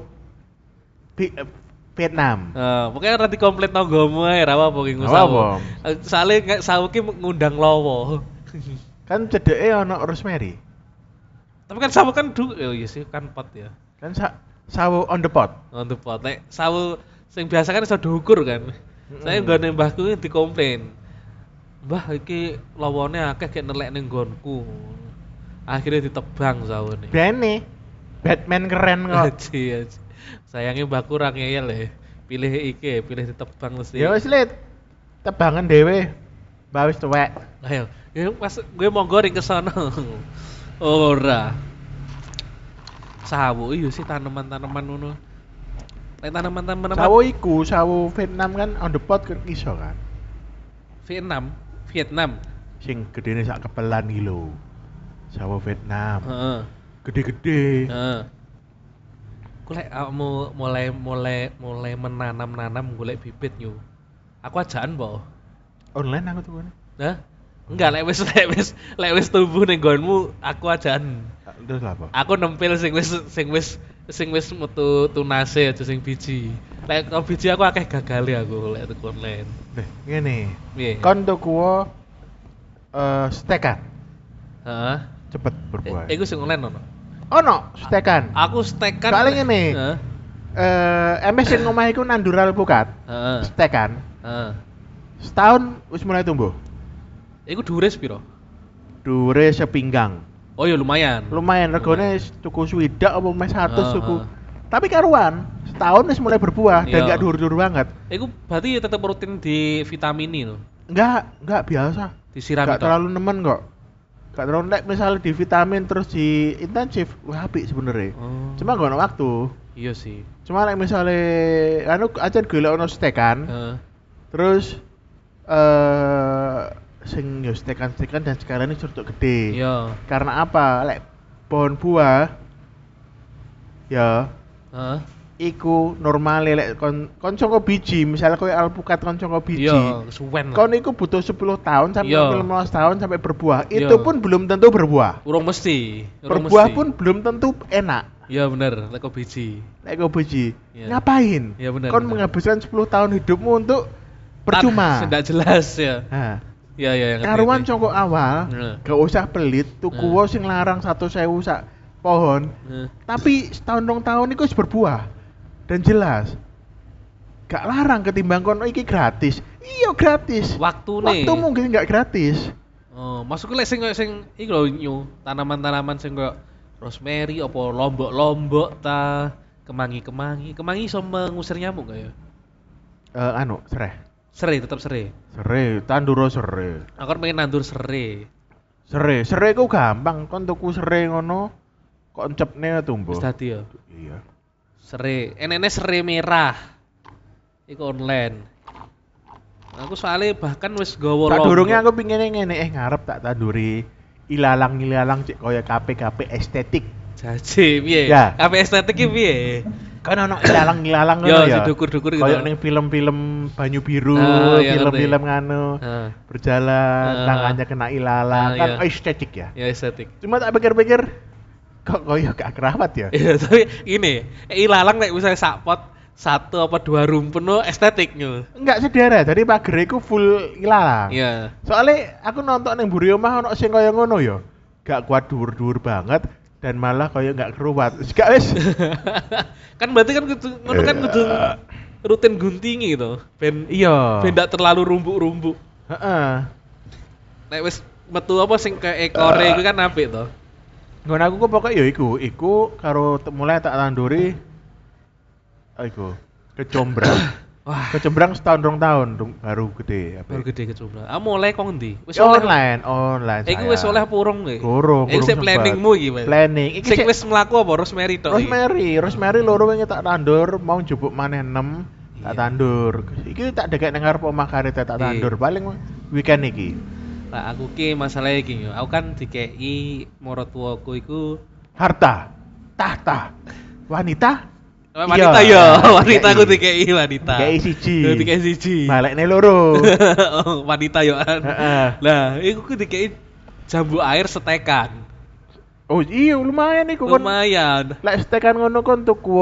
Speaker 2: Vietnam.
Speaker 1: Pokoknya nanti komplit tanggomu ae ra apa ki
Speaker 2: Ora
Speaker 1: sawo.
Speaker 2: apa.
Speaker 1: Soale sawo ki ngundang lowo.
Speaker 2: Kan cedeke ana rosemary.
Speaker 1: Tapi kan sawo kan iya sih kan pot ya.
Speaker 2: Kan sawo on the pot.
Speaker 1: Untuk pot. Nek sawo sing biasa kan iso diukur kan. Saya nggone mbahku ki dikomplain. Mbah iki lowone akeh gek nelek ning nggonku. Akhirnya ditebang sawone.
Speaker 2: Bene Batman keren kok.
Speaker 1: Aji, aji. Sayangnya mbahku ora ngeyel ya. Pilih iki, pilih ditebang mesti.
Speaker 2: Ya wis Lit. Tebangan dhewe. Mbak wis tuwek.
Speaker 1: Ayo, ya pas gue monggo ring kesana. Ora. Sawo iya sih tanaman-tanaman ngono. Lek tanaman-tanaman
Speaker 2: Sawo iku, sawo Vietnam kan on the pot kan iso kan.
Speaker 1: Vietnam.
Speaker 2: Sing gedene sak kepelan iki lho. Sawo Vietnam.
Speaker 1: Heeh.
Speaker 2: Gede-gede.
Speaker 1: Heeh. Ku lek awakmu mulai menanam golek bibit yo. Aku ajaan po.
Speaker 2: Online aku tuh.
Speaker 1: Hah? Enggak, lek wis tumbuh ning nggonmu aku ajaan.
Speaker 2: Terus lah apa?
Speaker 1: Aku nempel sing wis metu tunase aja sing biji. Lek kok biji aku akeh gagale aku lek tuku online.
Speaker 2: Nih, ngene.
Speaker 1: Piye?
Speaker 2: Kon tuku stekan.
Speaker 1: Heeh.
Speaker 2: Cepet berbuah.
Speaker 1: Iku sing online ono.
Speaker 2: Ono stekan.
Speaker 1: Aku stekan.
Speaker 2: Soalnya ngene.
Speaker 1: Heeh.
Speaker 2: MS sing omah iku nandural pukat.
Speaker 1: Heeh.
Speaker 2: Stekan.
Speaker 1: Heeh.
Speaker 2: Setahun wis mulai tumbuh.
Speaker 1: Iku dhuwure piro?
Speaker 2: Dure sepinggang.
Speaker 1: Oh ya lumayan.
Speaker 2: Lumayan regane tuku swidak apa mes 100 tuku.
Speaker 1: Heeh.
Speaker 2: Tapi karuan, setahun wis mulai berbuah dan
Speaker 1: Iya.
Speaker 2: enggak dur-dur banget.
Speaker 1: Iku berarti tetep rutin di vitamini lho.
Speaker 2: Enggak biasa.
Speaker 1: Disiram
Speaker 2: Enggak
Speaker 1: itu.
Speaker 2: terlalu nemen kok. Enggak terlalu nek misalnya di vitamin terus di intensif, wah apik sebenarnya.
Speaker 1: Oh.
Speaker 2: Cuma gak ono waktu.
Speaker 1: Iya sih.
Speaker 2: Cuma nek misalnya anu aja golek ono stekan,
Speaker 1: Heeh.
Speaker 2: terus sing yo stekan-stekan dan sekarang ini curtuk gede.
Speaker 1: Iya.
Speaker 2: Karena apa? Lek pohon buah ya
Speaker 1: Heeh.
Speaker 2: iku normale lek kon congko biji, misalnya koyo alpukat kon congko biji.
Speaker 1: Iya, suwen lah.
Speaker 2: Kon iku butuh 10 tahun sampai
Speaker 1: Iya.
Speaker 2: 15 tahun sampai berbuah.
Speaker 1: Iya.
Speaker 2: Itu pun belum tentu berbuah.
Speaker 1: Urung mesti.
Speaker 2: Berbuah pun belum tentu enak.
Speaker 1: Iya bener, lek kok biji.
Speaker 2: Lek kau biji,
Speaker 1: Iya.
Speaker 2: ngapain?
Speaker 1: Iya, benar,
Speaker 2: Kon
Speaker 1: benar.
Speaker 2: menghabiskan 10 tahun hidupmu untuk percuma.
Speaker 1: Tidak jelas ya.
Speaker 2: Nah,
Speaker 1: Iya iya yang
Speaker 2: karuan congko awal,
Speaker 1: Heeh.
Speaker 2: gak usah pelit, tuku
Speaker 1: Heeh.
Speaker 2: wo sing larang 100.000 sak pohon. Tapi setahun dong tahun itu wis berbuah dan jelas. Gak larang ketimbang kono iki gratis. Iya gratis.
Speaker 1: Waktu nih.
Speaker 2: Waktu mungkin gak gratis.
Speaker 1: Oh, maksudku lek sing iki lho nyu, tanaman-tanaman sing koyo rosemary apa lombok-lombok ta, kemangi-kemangi. Kemangi iso mengusir nyamuk gak ya?
Speaker 2: Anu, sereh.
Speaker 1: Serai, tetap serai.
Speaker 2: Serai, tanduro serai.
Speaker 1: Aku kan pengen nandur serai.
Speaker 2: Serai ku gampang, kon tuku serai ngono kok encepne tumbuh.
Speaker 1: Wis dadi ya.
Speaker 2: Iya.
Speaker 1: Serai, enene serai merah. Iku online. Aku soalnya bahkan wis gawa
Speaker 2: Tak
Speaker 1: lombok.
Speaker 2: durungnya aku pingin ngene ngarep tak tanduri ilalang cek koyo KP estetik.
Speaker 1: Jaji piye?
Speaker 2: Ya.
Speaker 1: Apa estetik ki piye?
Speaker 2: Kan ono ilalang-ilalang
Speaker 1: Yo,
Speaker 2: ngono ya.
Speaker 1: dukur-dukur gitu.
Speaker 2: Kayak ning film-film banyu biru,
Speaker 1: iya,
Speaker 2: film-film
Speaker 1: ngerti.
Speaker 2: nganu.
Speaker 1: Heeh.
Speaker 2: Berjalan, tangannya kena ilalang, kan
Speaker 1: iya.
Speaker 2: estetik ya.
Speaker 1: Ya estetik.
Speaker 2: Cuma tak pikir-pikir kok koyo gak kerawat ya.
Speaker 1: Iya, tapi ini ilalang nek misalnya sak pot 1 apa 2 rumpun no estetiknya.
Speaker 2: Enggak sedara, jadi pager iku full ilalang.
Speaker 1: Iya.
Speaker 2: Soalnya aku nonton ning mburi omah ono sing kaya ngono ya. Gak kuat dhuwur-dhuwur banget dan malah kaya gak keruwat. Gak wis.
Speaker 1: Kan berarti kan kudu ngono kan kudu rutin guntingi gitu. Ben
Speaker 2: Iya.
Speaker 1: ndak terlalu rumbuk-rumbuk.
Speaker 2: Heeh.
Speaker 1: Nek wis metu apa sing kayak ekore iku kan apik to.
Speaker 2: Ngono aku kok pokoknya ya iku karo mulai tak tanduri iku kecombrang.
Speaker 1: Wah,
Speaker 2: Kecombrang setahun 2 tahun baru gede apa.
Speaker 1: baru gede kecoba. Ah mulai kok ngendi? Wis
Speaker 2: Ya,
Speaker 1: oleh.
Speaker 2: online.
Speaker 1: Iku wis oleh purung kowe.
Speaker 2: Kurung
Speaker 1: Iki sik
Speaker 2: sempat.
Speaker 1: planningmu iki, Mas.
Speaker 2: Planning. Iki
Speaker 1: Sing
Speaker 2: sik
Speaker 1: wis mlaku apa rosemary tok iki?
Speaker 2: Rosemary loro wingi tak tandur, mau njupuk maneh 6 tak
Speaker 1: Iya.
Speaker 2: tandur. Iki tak dekek nang ngarep omah karete tak
Speaker 1: Iya.
Speaker 2: tandur paling weekend iki.
Speaker 1: Lah aku ki masalah iki yo. Aku kan dikei maratuwaku iku
Speaker 2: Harta, tahta, wanita,
Speaker 1: wanita
Speaker 2: Iya,
Speaker 1: yo, wanita aku
Speaker 2: dikei.
Speaker 1: dikei wanita.
Speaker 2: Dikei siji.
Speaker 1: Dikei siji.
Speaker 2: Balekne loro.
Speaker 1: Oh, wanita yo kan.
Speaker 2: Heeh.
Speaker 1: Lah, iku ku dikei jambu air setekan.
Speaker 2: Oh iya lumayan iku kon.
Speaker 1: Lumayan.
Speaker 2: Lek stekan ngono kon tuku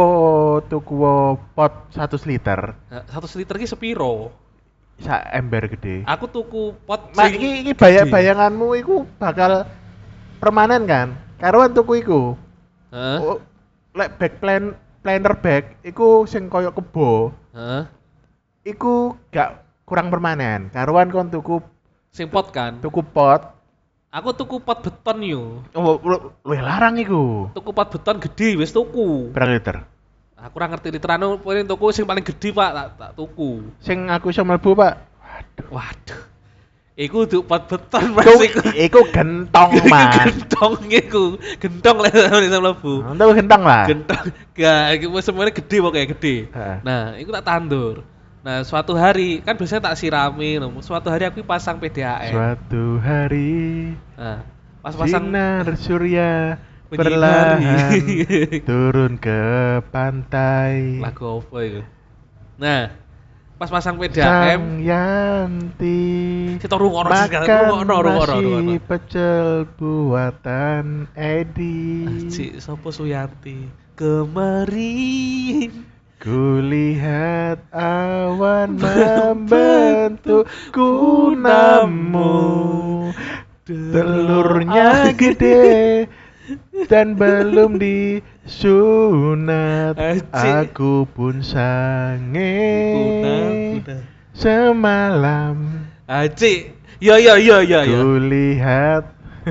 Speaker 2: pot 100 liter.
Speaker 1: 1 liter ki sepiro?
Speaker 2: Sak ember gede.
Speaker 1: Aku tuku pot
Speaker 2: Mak
Speaker 1: sing
Speaker 2: iki
Speaker 1: gede.
Speaker 2: bayanganmu iku bakal permanen kan? Karuan tuku iku.
Speaker 1: Heeh.
Speaker 2: Oh, lek planner bag iku sing koyo kebo,
Speaker 1: Heeh.
Speaker 2: iku gak kurang permanen. Karuan kon tuku
Speaker 1: Sing pot kan.
Speaker 2: pot.
Speaker 1: Aku tuku pot beton yo.
Speaker 2: Oh, luwih larang iku.
Speaker 1: Tuku pot beton gede wis tuku.
Speaker 2: Berapa liter?
Speaker 1: Aku ora ngerti literane pokoke tuku sing paling gede, Pak, tak tuku.
Speaker 2: Sing aku iso mlebu, Pak.
Speaker 1: Waduh. Iku untuk pot beton Mas
Speaker 2: Iku gentong, Mas.
Speaker 1: Gentong iku. Gentong lek iso mlebu.
Speaker 2: Untuk gentong lah.
Speaker 1: Gentong. Gak, iku semuanya gede pokoknya gede.
Speaker 2: Heeh.
Speaker 1: Nah, iku tak tandur. Nah, suatu hari kan biasanya tak sirami, no. Suatu hari aku pasang PDAM.
Speaker 2: Suatu hari
Speaker 1: Nah, pas pasang
Speaker 2: sinar surya
Speaker 1: Menyinari.
Speaker 2: perlahan turun ke pantai.
Speaker 1: lagu apa itu? Nah, pas pasang
Speaker 2: Sang
Speaker 1: PDAM,
Speaker 2: Yanti
Speaker 1: kita rungokno sekarang,
Speaker 2: makan
Speaker 1: rungokno.
Speaker 2: nasi pecel buatan Edi.
Speaker 1: Cik, sopo Suyanti? Kemarin
Speaker 2: Kulihat awan membentuk kunamu. Telurnya gede dan belum disunat.
Speaker 1: Acik.
Speaker 2: Aku pun sange
Speaker 1: Kuda.
Speaker 2: semalam.
Speaker 1: Aci, yo.
Speaker 2: Kulihat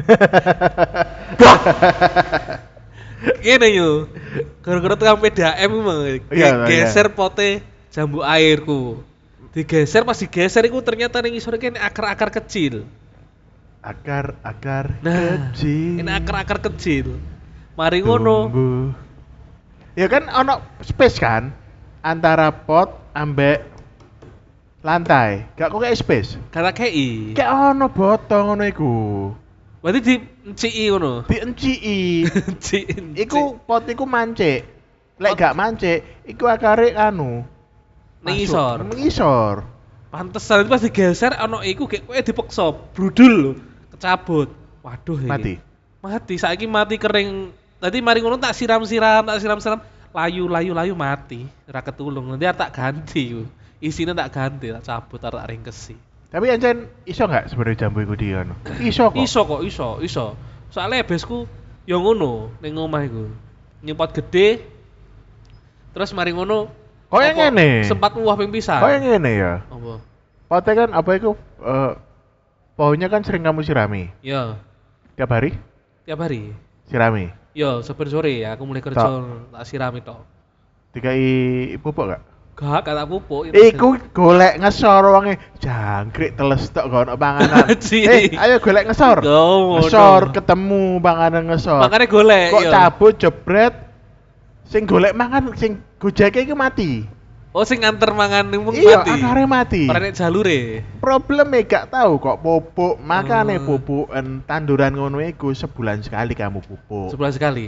Speaker 1: Gini yo, gara-gara tukang PDAM emang
Speaker 2: Iya,
Speaker 1: geser pote jambu airku. Digeser pas digeser itu ternyata ning isor kene akar-akar kecil.
Speaker 2: akar-akar
Speaker 1: Nah,
Speaker 2: kecil.
Speaker 1: ini akar-akar kecil. Mari ngono.
Speaker 2: tumbuh. Ya kan ono space kan antara pot ambek lantai. Gak kok kayak space.
Speaker 1: Kata KI.
Speaker 2: Kayak ono botol ngono iku.
Speaker 1: Berarti di enciki ngono.
Speaker 2: Dienciki.
Speaker 1: Encik.
Speaker 2: Iku pot iku mancik. Lek gak mancik, iku akare anu.
Speaker 1: Ning
Speaker 2: masuk.
Speaker 1: isor.
Speaker 2: Ning isor.
Speaker 1: Pantesan itu pas digeser ono iku kayak kowe dipeksa, brudul lho, kecabut. Waduh iki.
Speaker 2: Mati.
Speaker 1: Mati, saiki mati kering. Tadi mari ngono tak siram-siram, layu mati. Ora ketulung. Nanti tak ganti. Isine tak ganti, tak cabut, tak ringkesi.
Speaker 2: Tapi ancen iso gak sebenarnya jambu iku di anu? Iso kok.
Speaker 1: Iso. Soalnya besku yo ngono ning omah iku. Nyempot gede. Terus mari ngono
Speaker 2: Kok yang
Speaker 1: apa,
Speaker 2: ngene?
Speaker 1: sempat muah ping pisan.
Speaker 2: Kok yang ngene ya?
Speaker 1: Apa?
Speaker 2: Potnya kan apa iku pohonnya kan sering kamu sirami.
Speaker 1: Ya,
Speaker 2: Tiap hari
Speaker 1: tiap hari.
Speaker 2: sirami.
Speaker 1: Yo, saben sore ya aku mulai kerja tak sirami tok.
Speaker 2: Dikai pupuk gak?
Speaker 1: Gak tak pupuk.
Speaker 2: Iku golek ngesor wonge jangkrik teles tok gak ono panganan.
Speaker 1: Ci.
Speaker 2: Ayo golek ngesor.
Speaker 1: Ngono.
Speaker 2: Ngesor ketemu panganan ngesor.
Speaker 1: Makanya golek.
Speaker 2: Kok
Speaker 1: yo.
Speaker 2: cabut jebret sing golek mangan sing gojeke iku mati.
Speaker 1: Oh, sing nganter mangan ning
Speaker 2: Iya,
Speaker 1: mati.
Speaker 2: akare mati.
Speaker 1: Ora nek jalure.
Speaker 2: Probleme gak tahu kok pupuk, makane
Speaker 1: Oh.
Speaker 2: pupuken tanduran ngono iku sebulan sekali kamu pupuk.
Speaker 1: Sebulan sekali.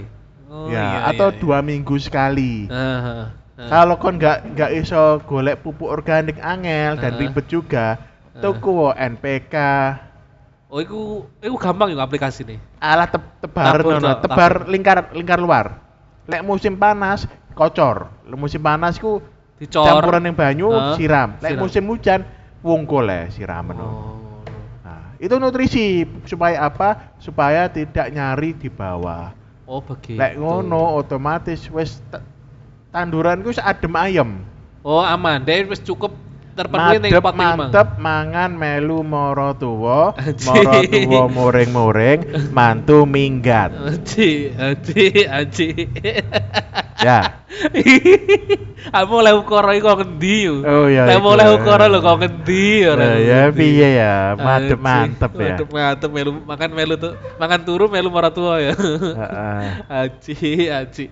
Speaker 1: Oh,
Speaker 2: ya, atau 2 minggu sekali.
Speaker 1: Heeh.
Speaker 2: Kalau kon nggak iso golek pupuk organik angel dan ribet juga, tuku NPK.
Speaker 1: Oh, iku gampang yo aplikasi nih.
Speaker 2: Alah tebar
Speaker 1: Tabur,
Speaker 2: nono,
Speaker 1: Cok,
Speaker 2: tebar
Speaker 1: tabur.
Speaker 2: lingkar luar. Lek musim panas kocor. Lek musim panas ku
Speaker 1: Dicor.
Speaker 2: campuran yang banyu
Speaker 1: Heeh,
Speaker 2: siram. Lek
Speaker 1: siram.
Speaker 2: musim hujan wungkul siram no.
Speaker 1: Oh.
Speaker 2: Nah, itu nutrisi supaya apa? Supaya tidak nyari di bawah.
Speaker 1: Oh, begitu.
Speaker 2: Lek ngono otomatis wis tanduran ku adem ayem.
Speaker 1: Oh, aman. Dia wis cukup terpenuhi ning
Speaker 2: Madep
Speaker 1: pot iki, Mang.
Speaker 2: mantep mangan melu moro tuwa,
Speaker 1: Aji.
Speaker 2: moro tuwa muring-muring, mantu minggat.
Speaker 1: Aji.
Speaker 2: Ya.
Speaker 1: Aku oleh ukara iku kok ngendi yo?
Speaker 2: Oh, iya,
Speaker 1: Lek
Speaker 2: iku.
Speaker 1: oleh ukara lho kok ngendi ora.
Speaker 2: Nah, ya piye ya, madep
Speaker 1: Aji.
Speaker 2: mantep ya.
Speaker 1: Mantep melu makan melu tuh. Makan turu melu mara tua ya.
Speaker 2: Heeh.
Speaker 1: Aji.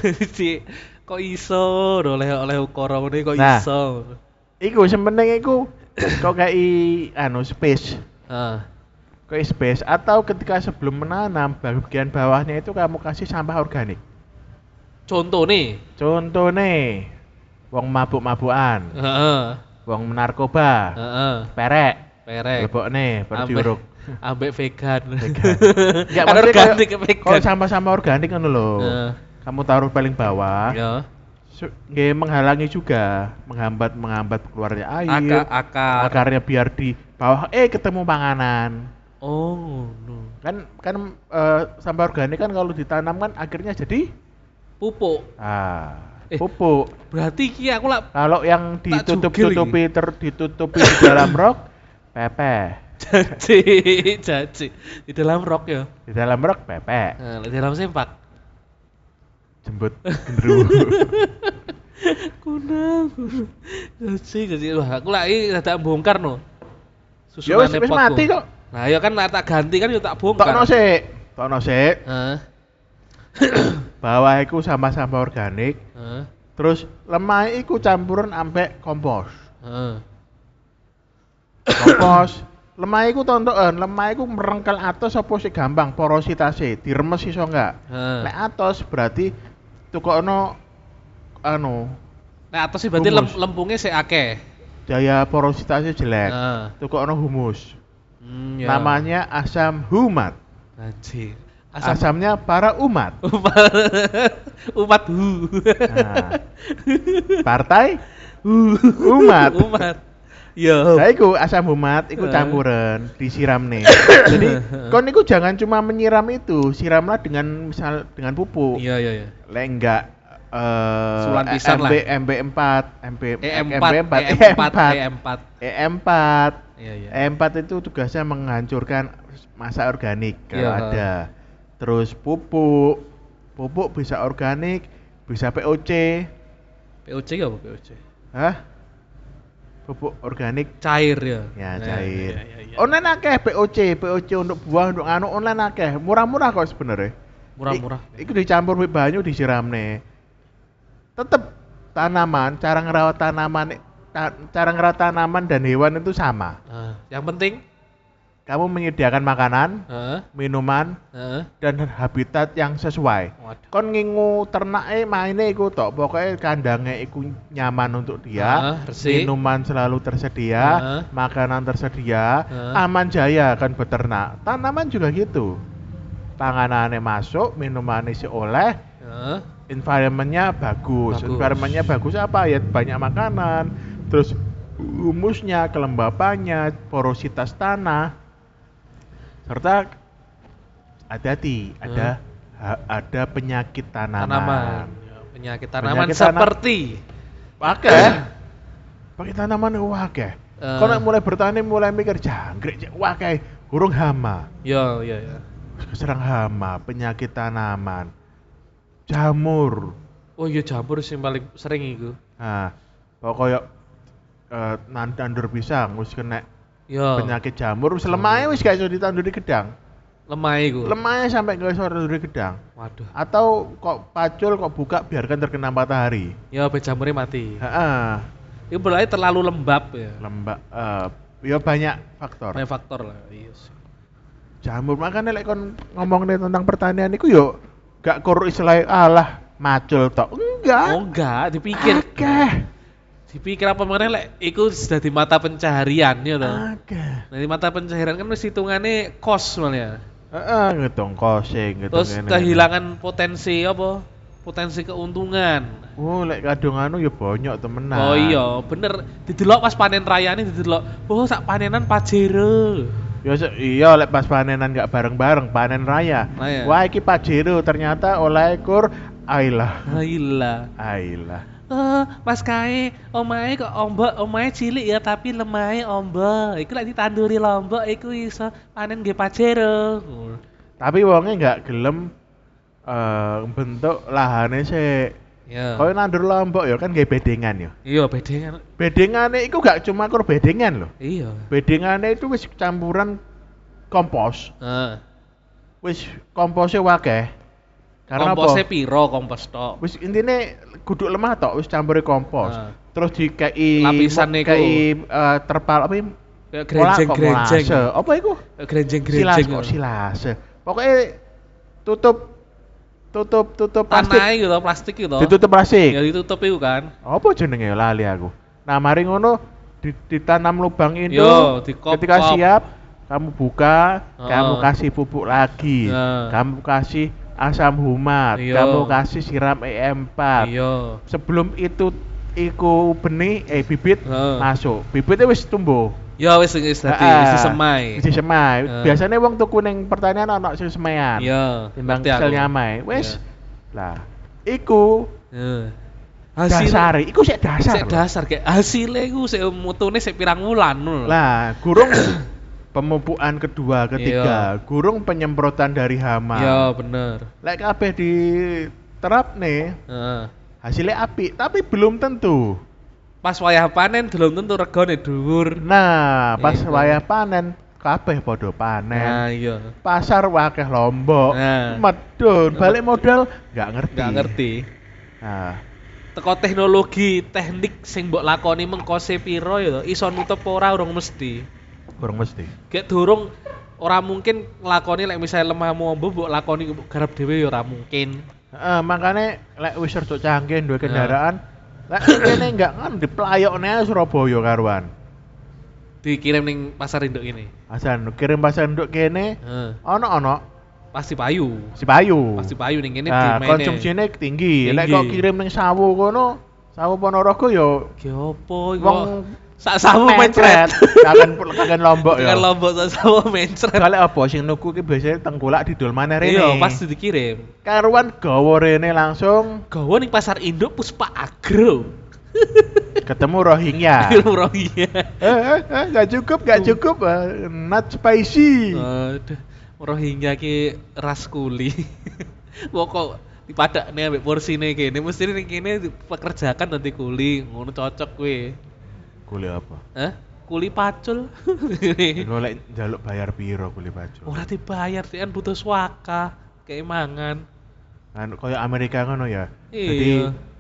Speaker 1: Kok iso oleh ukara ngene kok
Speaker 2: Nah.
Speaker 1: iso.
Speaker 2: Iku sementing iku kok kayak space.
Speaker 1: Ah.
Speaker 2: Kayak space atau ketika sebelum menanam bagian bawahnya itu kamu kasih sampah organik.
Speaker 1: Contoh nih.
Speaker 2: Contoh nih, wong mabuk-mabukan,
Speaker 1: Heeh.
Speaker 2: wong narkoba,
Speaker 1: Heeh.
Speaker 2: perek,
Speaker 1: Perek.
Speaker 2: lebokne, perjuruk.
Speaker 1: Ambek vegan.
Speaker 2: Enggak
Speaker 1: Kan
Speaker 2: maksudnya
Speaker 1: organik
Speaker 2: kalau
Speaker 1: vegan.
Speaker 2: sama-sama organik kan lho.
Speaker 1: Heeh.
Speaker 2: Kamu taruh paling bawah.
Speaker 1: Ya.
Speaker 2: Nggih menghalangi juga, menghambat keluarnya air.
Speaker 1: Akar.
Speaker 2: Akarnya biar di bawah ketemu panganan.
Speaker 1: Oh, no.
Speaker 2: Kan sampah organik kan kalau ditanam kan akhirnya jadi
Speaker 1: Pupuk.
Speaker 2: pupuk.
Speaker 1: Berarti iki aku lah
Speaker 2: Kalau yang
Speaker 1: Tak jugil
Speaker 2: ditutupi di dalam rok, pepeh.
Speaker 1: jaji di dalam rok ya.
Speaker 2: Di dalam rok pepeh.
Speaker 1: Nah, di dalam sempak.
Speaker 2: Jembut gendruwo.
Speaker 1: Kunang. Jaji. Wah, aku lagi tak bongkar no.
Speaker 2: Ya wis mati kok.
Speaker 1: Nah, ya kan tak ganti kan ya tak bongkar.
Speaker 2: Tokno sik.
Speaker 1: Heeh.
Speaker 2: Bawah iku sampah-sampah organik,
Speaker 1: Heeh.
Speaker 2: terus lemah iku campuran ambek kompos.
Speaker 1: Heeh.
Speaker 2: Kompos. Lemah iku tontokan, lemah iku merengkel atos apa sih gampang porositasnya, diremes iso enggak?
Speaker 1: Heeh.
Speaker 2: Nek atos berarti tukokno
Speaker 1: Nah, atas sih berarti
Speaker 2: Humus.
Speaker 1: lempungnya sik akeh.
Speaker 2: daya porositasnya jelek.
Speaker 1: Heeh.
Speaker 2: Tukokno humus.
Speaker 1: Ya.
Speaker 2: Namanya asam humat.
Speaker 1: Haji.
Speaker 2: Asamnya para umat.
Speaker 1: Umat hu.
Speaker 2: Nah, partai umat.
Speaker 1: Umat. Yo.
Speaker 2: Nah, iku asam humat, iku campuran, disiram nih. Jadi, kon iku jangan cuma menyiram itu, siramlah dengan dengan pupuk.
Speaker 1: Iya.
Speaker 2: Lek enggak
Speaker 1: Sulan pisan lah.
Speaker 2: MB4,
Speaker 1: E4.
Speaker 2: E4.
Speaker 1: Iya.
Speaker 2: E4 itu tugasnya menghancurkan massa organik kalau
Speaker 1: Iya.
Speaker 2: ada. Terus pupuk bisa organik, bisa POC.
Speaker 1: POC ya apa POC?
Speaker 2: Hah? Pupuk organik
Speaker 1: Cair ya.
Speaker 2: ya
Speaker 1: Nah,
Speaker 2: cair.
Speaker 1: iya.
Speaker 2: Online akeh POC untuk buah, untuk online akeh. Murah-murah kok sebenarnya.
Speaker 1: Murah-murah.
Speaker 2: Iku dicampur with banyu disiramne. Tetep tanaman, cara ngerawat tanaman dan hewan itu sama.
Speaker 1: Nah, yang penting
Speaker 2: Kamu menyediakan makanan,
Speaker 1: heeh,
Speaker 2: minuman,
Speaker 1: heeh.
Speaker 2: dan habitat yang sesuai.
Speaker 1: Waduh.
Speaker 2: Kon ngingu ternake maine iku tok, pokoknya kandangnya iku nyaman untuk dia,
Speaker 1: Resik.
Speaker 2: minuman selalu tersedia,
Speaker 1: Heeh.
Speaker 2: makanan tersedia,
Speaker 1: Heeh.
Speaker 2: aman jaya kan beternak. Tanaman juga gitu. Panganannya masuk, minumannya si oleh,
Speaker 1: Heeh.
Speaker 2: environmentnya bagus.
Speaker 1: Bagus.
Speaker 2: Environmentnya bagus apa ya? Banyak makanan, terus humusnya, kelembapannya, porositas tanah, serta hati-hati ada penyakit tanaman.
Speaker 1: Ya, penyakit tanaman
Speaker 2: Penyakit tanam-
Speaker 1: seperti
Speaker 2: pakai tanaman wakeh.
Speaker 1: Eh.
Speaker 2: Kalau mulai bertani mulai mikir jangkrik wakeh, burung hama,
Speaker 1: ya.
Speaker 2: keserang hama, penyakit tanaman, jamur.
Speaker 1: Oh iya jamur sih paling sering itu.
Speaker 2: Nah, pokoknya nandur pisang wis kena
Speaker 1: Ya.
Speaker 2: penyakit jamur, wis lemahnya wis gak iso ditanduri gedang.
Speaker 1: Lemah itu.
Speaker 2: Lemahnya sampai gak iso ditanduri gedang.
Speaker 1: Waduh.
Speaker 2: Atau kok pacul kok buka biarkan terkena matahari.
Speaker 1: Ya be jamurnya mati.
Speaker 2: Heeh.
Speaker 1: Itu berarti terlalu lembab ya.
Speaker 2: Lembak ya banyak faktor.
Speaker 1: Banyak faktor lah. Iya sih.
Speaker 2: Jamur makanya lek kon ngomong tentang pertanian iku yo gak kur istilahnya alah macul tok. Enggak.
Speaker 1: Oh enggak, dipikir.
Speaker 2: Akeh.
Speaker 1: Dipikir apa meneh lek iku sudah di mata pencaharian ya toh.
Speaker 2: Akeh.
Speaker 1: Nah, di mata pencaharian kan wis hitungane kos malah.
Speaker 2: Heeh, ngitung kosing, ngitung
Speaker 1: Terus
Speaker 2: ngene.
Speaker 1: kehilangan potensi apa? Potensi keuntungan.
Speaker 2: Oh, lek kadung anu ya banyak temenan.
Speaker 1: Oh iya, bener. Didelok pas panen rayane didelok. Oh, sak panenan Pajero.
Speaker 2: Ya iya lek pas panenan gak bareng-bareng panen raya.
Speaker 1: Nah, ya.
Speaker 2: Wah, iki Pajero ternyata oleh kur Ailah.
Speaker 1: Ayolah.
Speaker 2: Ailah.
Speaker 1: Oh, Mas Kae, omahe kok ombak, omahe cilik ya tapi lemahe ombak. Iku lek ditanduri lombok iku iso panen nggih Pajero.
Speaker 2: Tapi wonge gak gelem bentuk lahane sik.
Speaker 1: Ya.
Speaker 2: Kaya nandur lombok ya kan nggih bedengan ya.
Speaker 1: Iya, bedengan.
Speaker 2: Bedengane iku gak cuma kur bedengan loh.
Speaker 1: Iya.
Speaker 2: Bedengane itu wis campuran kompos.
Speaker 1: Heeh.
Speaker 2: Wis komposnya wakeh. Karena
Speaker 1: Komposnya
Speaker 2: apa?
Speaker 1: piro kompos tok?
Speaker 2: Wis intine guduk lemah tok wis campuri kompos.
Speaker 1: Ah.
Speaker 2: Terus dikei
Speaker 1: Lapisan niku.
Speaker 2: kei terpal apa iki?
Speaker 1: Kayak grenjeng-grenjeng.
Speaker 2: Molase. Apa iku?
Speaker 1: Kayak grenjeng-grenjeng.
Speaker 2: Silas kok silase. Pokoknya tutup plastik.
Speaker 1: Tanah gitu, plastik gitu.
Speaker 2: Ditutup plastik.
Speaker 1: Ya ditutup itu kan.
Speaker 2: Apa jenenge lali aku. Nah, mari ngono ditanam lubang itu.
Speaker 1: Yo, dikop-kop.
Speaker 2: Ketika siap kamu buka,
Speaker 1: Oh.
Speaker 2: kamu kasih pupuk lagi.
Speaker 1: Ya.
Speaker 2: Kamu kasih asam humat,
Speaker 1: Iya.
Speaker 2: kamu kasih siram EM4.
Speaker 1: Iya.
Speaker 2: Sebelum itu iku benih bibit
Speaker 1: Heeh.
Speaker 2: masuk. Bibitnya wis tumbuh.
Speaker 1: Ya wis dadi
Speaker 2: Ah,
Speaker 1: wis semai.
Speaker 2: Wis semai.
Speaker 1: Heeh.
Speaker 2: Biasanya wong tuku ning pertanian ana sing semaian.
Speaker 1: Iya.
Speaker 2: Timbang
Speaker 1: ngerti aku.
Speaker 2: sel nyamai. Wis.
Speaker 1: Iya.
Speaker 2: Lah, iku
Speaker 1: Heeh. Hasil
Speaker 2: dasare, iku sik dasar.
Speaker 1: sik
Speaker 2: lho.
Speaker 1: dasar kayak hasilnya iku sik mutune sik pirang wulan ngono lho.
Speaker 2: Lah, gurung pemupukan kedua, ketiga, gurung penyemprotan dari hama.
Speaker 1: Iya, bener.
Speaker 2: Lek kabeh diterap nih,
Speaker 1: Heeh.
Speaker 2: hasilnya apik, tapi belum tentu.
Speaker 1: Pas wayah panen belum tentu regane dhuwur.
Speaker 2: Nah, pas
Speaker 1: Itu.
Speaker 2: wayah panen, kabeh padha panen.
Speaker 1: Nah, iya.
Speaker 2: Pasar wakeh lombok,
Speaker 1: Nah.
Speaker 2: medun, balik modal nggak ngerti.
Speaker 1: Nggak ngerti.
Speaker 2: Nah,
Speaker 1: Teko teknologi, teknik sing mbok lakoni mengkose piro ya to, iso nutup ora urung mesti.
Speaker 2: kurang mesti.
Speaker 1: Gek durung ora mungkin nglakoni lek misalnya lemahmu ombo mbok lakoni garap dhewe ya ora mungkin.
Speaker 2: Makanya lek wis rada canggih duwe kendaraan, lek kene nggak kan diplayokne ae Surabaya karuan.
Speaker 1: Dikirim ning pasar induk ini.
Speaker 2: Asan kirim pasar nduk kene,
Speaker 1: Heeh.
Speaker 2: ono
Speaker 1: Pasti payu.
Speaker 2: si payu.
Speaker 1: Pasti payu ning kene
Speaker 2: Nah,
Speaker 1: dimene.
Speaker 2: konsumsinya tinggi. Lek
Speaker 1: Tinggi.
Speaker 2: kok kirim ning Sawu kono, Sawu Ponorogo yo
Speaker 1: Ki opo iku?
Speaker 2: wong
Speaker 1: Sak sawu mencret.
Speaker 2: Kagen Lombok ya.
Speaker 1: Kan lombok sak sawu mencret.
Speaker 2: Soale apa sing nuku ki biasanya tengkulak didol maneh rene.
Speaker 1: Iya, pasti dikirim.
Speaker 2: Karuan gawa rene langsung
Speaker 1: Gawa ning pasar induk Puspa Agro.
Speaker 2: ketemu Rohingya.
Speaker 1: Rohingya.
Speaker 2: Enggak cukup. Not spicy.
Speaker 1: Aduh, Rohingya ki ras kuli. Wong kok dipadakne ambek porsine kene, mesti ning kene pekerjakan nanti kuli, ngono cocok kowe.
Speaker 2: Kuliah apa?
Speaker 1: Hah? Kuli pacul.
Speaker 2: Lo lek njaluk bayar piro kuliah baju?
Speaker 1: Ora dibayar, sih kan butuh swaka, kayak mangan.
Speaker 2: Kan koyo Amerika ngono ya.
Speaker 1: Iya.
Speaker 2: Jadi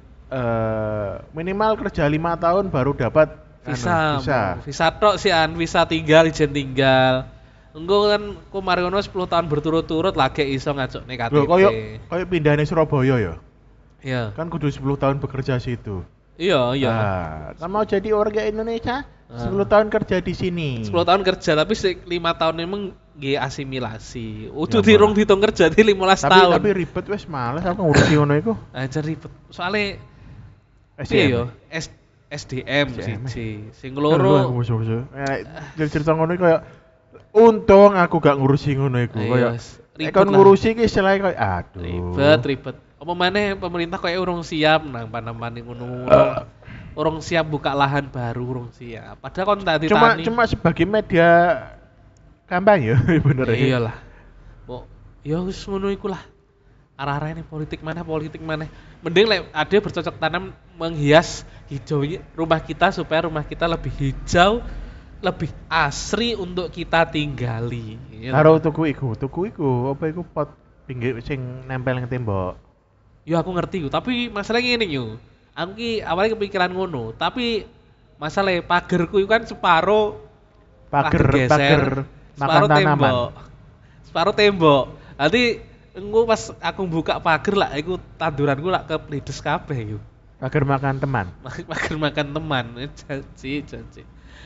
Speaker 2: minimal kerja 5 tahun baru dapat
Speaker 1: Visa.
Speaker 2: visa.
Speaker 1: Visa tok sih an, visa tinggal, izin tinggal. Engko kan kemarin ngono 10 tahun berturut-turut lagi iso ngajokne KTP.
Speaker 2: Loh, koyo pindahne Surabaya ya.
Speaker 1: Iya.
Speaker 2: Kan kudu 10 tahun bekerja situ.
Speaker 1: Iya.
Speaker 2: Nah, kan mau jadi warga Indonesia 10 tahun kerja di sini.
Speaker 1: 10 tahun kerja tapi 5 tahun emang nggih asimilasi. Udah
Speaker 2: Ya,
Speaker 1: dirung ditung kerja di 15
Speaker 2: tapi
Speaker 1: tahun.
Speaker 2: tapi ribet wes males aku ngurusi ngono iku.
Speaker 1: Aja ribet. Soale
Speaker 2: SDM.
Speaker 1: piye yo? SDM
Speaker 2: SDM.
Speaker 1: siji. Sing
Speaker 2: Loro
Speaker 1: loro
Speaker 2: cerita ngono iku kayak untung aku gak ngurusi ngono iku.
Speaker 1: Iya,
Speaker 2: Kayak
Speaker 1: ribet
Speaker 2: kon
Speaker 1: lah.
Speaker 2: ngurusi ki istilahnya kayak aduh.
Speaker 1: ribet. Apa maneh pemerintah kayak urung siap nang panamane ngono. Urung siap buka lahan baru, urung siap. Padahal kon tak ditani.
Speaker 2: Cuma sebagai media kampanye bener ya.
Speaker 1: Iyalah. Kok ya wis ngono iku lah. Arah-arahnya politik mana. Mending lek ada bercocok tanam menghias hijaunya rumah kita supaya rumah kita lebih hijau, lebih asri untuk kita tinggali. Iya
Speaker 2: Karo
Speaker 1: toh?
Speaker 2: tuku iku, apa iku pot pinggir sing nempel ning tembok.
Speaker 1: Ya aku ngerti ku, tapi masalahnya ini yo. Aku ki awalnya kepikiran ngono, tapi masalah pagerku itu kan separuh
Speaker 2: Pager
Speaker 1: geser,
Speaker 2: makan
Speaker 1: separuh
Speaker 2: tanaman.
Speaker 1: Separuh tembok. Nanti Engko pas aku buka pager lah iku tanduranku lah kepledes kabeh iku.
Speaker 2: Pager makan teman.
Speaker 1: Pager makan teman, janji.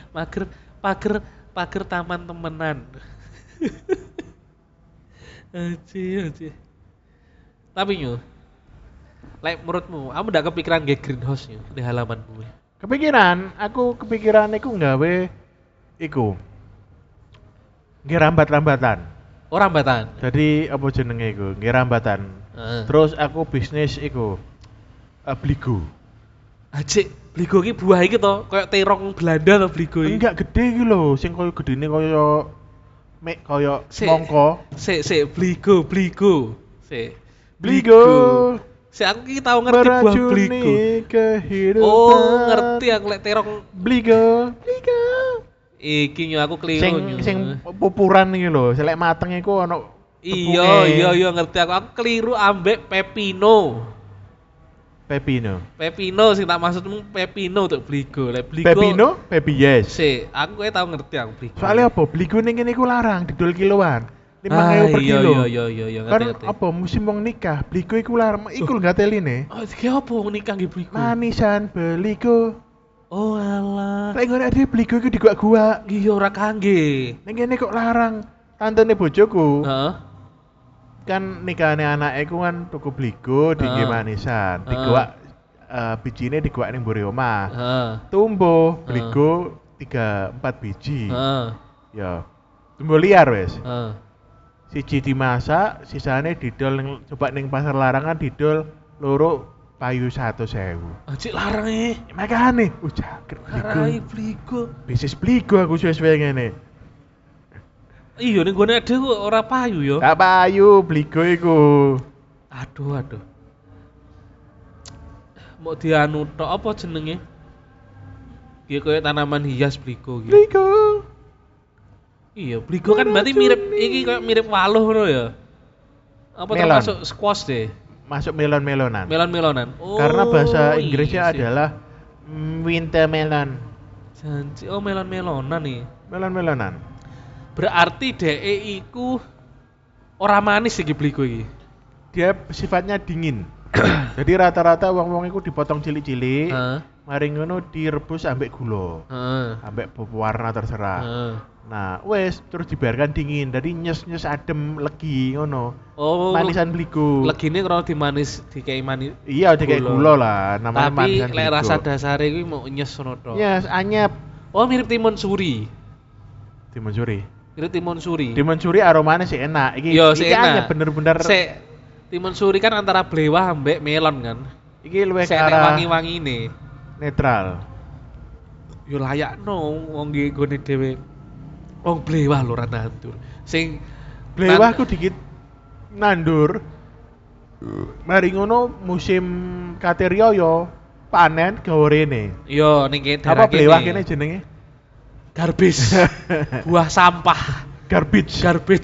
Speaker 1: Pager taman temenan. Aji. Tapi nyu, like menurutmu, kamu ndak kepikiran nge greenhouse nyu di halamanmu?
Speaker 2: Kepikiran, aku kepikiran iku nggawe iku. Nggih rambat-rambatan.
Speaker 1: Oh rambatan.
Speaker 2: Jadi apa jenenge iku? Nggih rambatan. Terus aku bisnis iku bligo.
Speaker 1: Ajik, bligo ki buah iki to, koyo terong Belanda to bligo iki.
Speaker 2: Enggak gede iki lho, sing koyo gedene koyo koyo semangka.
Speaker 1: Sik bligo. Sik.
Speaker 2: Bligo.
Speaker 1: Sik aku ki tau ngerti buah bligo.
Speaker 2: Kehidupan.
Speaker 1: Oh, ngerti aku lek terong
Speaker 2: bligo.
Speaker 1: Iki nyu aku keliru nyu.
Speaker 2: Sing pupuran iki lho, selek mateng iku ono
Speaker 1: Iya ngerti aku keliru ambek pepino sing tak maksudmu pepino untuk bligo. Lek bligo
Speaker 2: Pepino, Pepi yes.
Speaker 1: Sik, aku tau ngerti aku bligo.
Speaker 2: Soalnya apa? Bligo ning kene iku larang didol kiloan. 5.000 per kilo.
Speaker 1: Iya
Speaker 2: Kan
Speaker 1: ngerti.
Speaker 2: apa musim wong nikah, bligo iku larang. Iku lho gateline.
Speaker 1: Oh, iki apa wong nikah nggih bligo?
Speaker 2: Manisan bligo.
Speaker 1: Oh alah.
Speaker 2: Lek ngene ade bligo iku digua-gua.
Speaker 1: Iya ora kangge.
Speaker 2: Ning kene kok larang. Tantene bojoku.
Speaker 1: Heeh.
Speaker 2: Kan nikahane anake ku kan tuku bligo dingge manisan. Digua bijine digua ning mburi omah.
Speaker 1: Heeh.
Speaker 2: Tumbuh bligo 3-4 biji.
Speaker 1: Heeh.
Speaker 2: Ya. Tumbuh liar wis.
Speaker 1: Heeh.
Speaker 2: Siji dimasak, sisane didol ning coba ning pasar larangan didol loro payu 100.000.
Speaker 1: Ajik larang e.
Speaker 2: Makane, jaget
Speaker 1: Karai
Speaker 2: bligo.
Speaker 1: bligo.
Speaker 2: Bisnis bligo aku suwe-suwe ngene.
Speaker 1: Iya ning gone ade kok ora payu yo.
Speaker 2: Tak payu bligo iku.
Speaker 1: Aduh. Mau dianu tok apa jenenge? Ki koyo tanaman hias bligo gitu.
Speaker 2: Bligo.
Speaker 1: Iya, bligo kan berarti mirip iki koyo mirip waluh ngono ya. Apa
Speaker 2: Melon.
Speaker 1: termasuk squash deh?
Speaker 2: Masuk melon-melonan.
Speaker 1: Melon-melonan. Oh,
Speaker 2: Karena bahasa Inggrisnya
Speaker 1: iya sih.
Speaker 2: adalah winter melon.
Speaker 1: Janji, oh melon-melonan nih.
Speaker 2: Melon-melonan.
Speaker 1: Berarti DE iku ora manis iki bligo iki.
Speaker 2: Dia sifatnya dingin. Jadi rata-rata wong-wong iku dipotong cilik-cilik.
Speaker 1: Heeh.
Speaker 2: Mari ngono direbus ambek gula.
Speaker 1: Heeh.
Speaker 2: Ambek warna terserah.
Speaker 1: Heeh.
Speaker 2: Nah, wes terus dibiarkan dingin. Jadi nyes-nyes adem legi ngono.
Speaker 1: Oh,
Speaker 2: Manisan bligo.
Speaker 1: legine kalau dimanis dikei manis.
Speaker 2: Iya, kayak gula lah. Namanya
Speaker 1: Tapi
Speaker 2: manisan
Speaker 1: lek
Speaker 2: bligo.
Speaker 1: rasa dasare kuwi mau nyes ngono tok.
Speaker 2: Nyes anyep.
Speaker 1: Oh, mirip timun suri.
Speaker 2: Timun suri.
Speaker 1: Mirip timun suri.
Speaker 2: Timun suri aromanya sih enak. Iki
Speaker 1: Yo,
Speaker 2: iki
Speaker 1: sih enak.
Speaker 2: anyep bener-bener.
Speaker 1: Sik, timun suri kan antara blewah ambek melon kan.
Speaker 2: Iki luwih ke
Speaker 1: Sik nek
Speaker 2: arah
Speaker 1: wangi-wangine.
Speaker 2: netral.
Speaker 1: Yo layakno wong nggih gone dhewe. Wong blewah lho ora nandur. Sing
Speaker 2: Blewah ku dikit nandur. Mari ngono musim kateryo yo panen gawe rene.
Speaker 1: yo ning kene
Speaker 2: Apa blewah kene jenenge?
Speaker 1: garbage. Buah sampah.
Speaker 2: Garbage.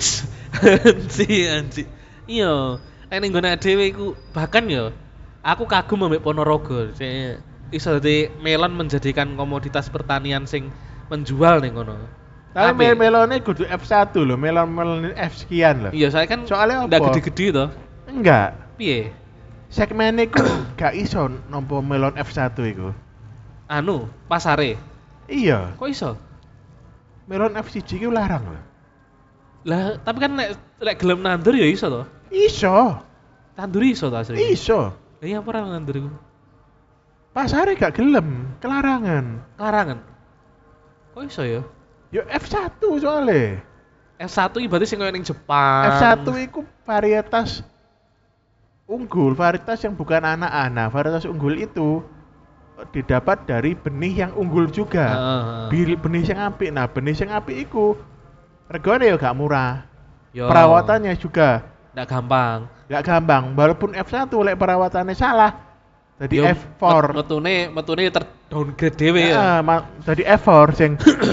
Speaker 1: Anji. Iya, nek ning gone dhewe iku bahkan yo aku kagum ambek Ponorogo. Sing iso dadi melon menjadikan komoditas pertanian sing menjual ning kono.
Speaker 2: Tapi
Speaker 1: Apik.
Speaker 2: melone kudu F1 lho, melon F sekian lho.
Speaker 1: Iya, saya kan
Speaker 2: Soalnya
Speaker 1: ndak
Speaker 2: apa?
Speaker 1: gede-gede to.
Speaker 2: Enggak.
Speaker 1: Piye?
Speaker 2: Segmennya ku gak iso nampa melon F1 iku.
Speaker 1: Anu, pasare.
Speaker 2: Iya,
Speaker 1: Kok iso?
Speaker 2: melon F1 iku larang lho.
Speaker 1: Lah, tapi kan lek gelem nandur ya iso to.
Speaker 2: Iso.
Speaker 1: Tandur iso to asli.
Speaker 2: Iso.
Speaker 1: Lah iya apa ora nandur iku?
Speaker 2: Pasare gak gelem, kelarangan.
Speaker 1: Larangan. Kok iso ya?
Speaker 2: Yo F1 soalnya.
Speaker 1: F1 iki berarti sing koyo ning Jepang.
Speaker 2: F1 itu varietas unggul, varietas yang bukan anak-anak. Varietas unggul itu didapat dari benih yang unggul juga. Benih yang apik. Nah, benih yang apik itu regane ya gak murah.
Speaker 1: Yo.
Speaker 2: Perawatannya juga
Speaker 1: Ndak gampang.
Speaker 2: gak gampang. Walaupun F1 lek perawatannya salah. Jadi
Speaker 1: Yo,
Speaker 2: F4.
Speaker 1: metune terdowngrade dhewe ya.
Speaker 2: Jadi F4 sing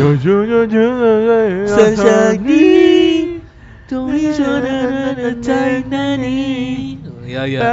Speaker 1: Sesagi Tony Sonana Tainani. Ya ya.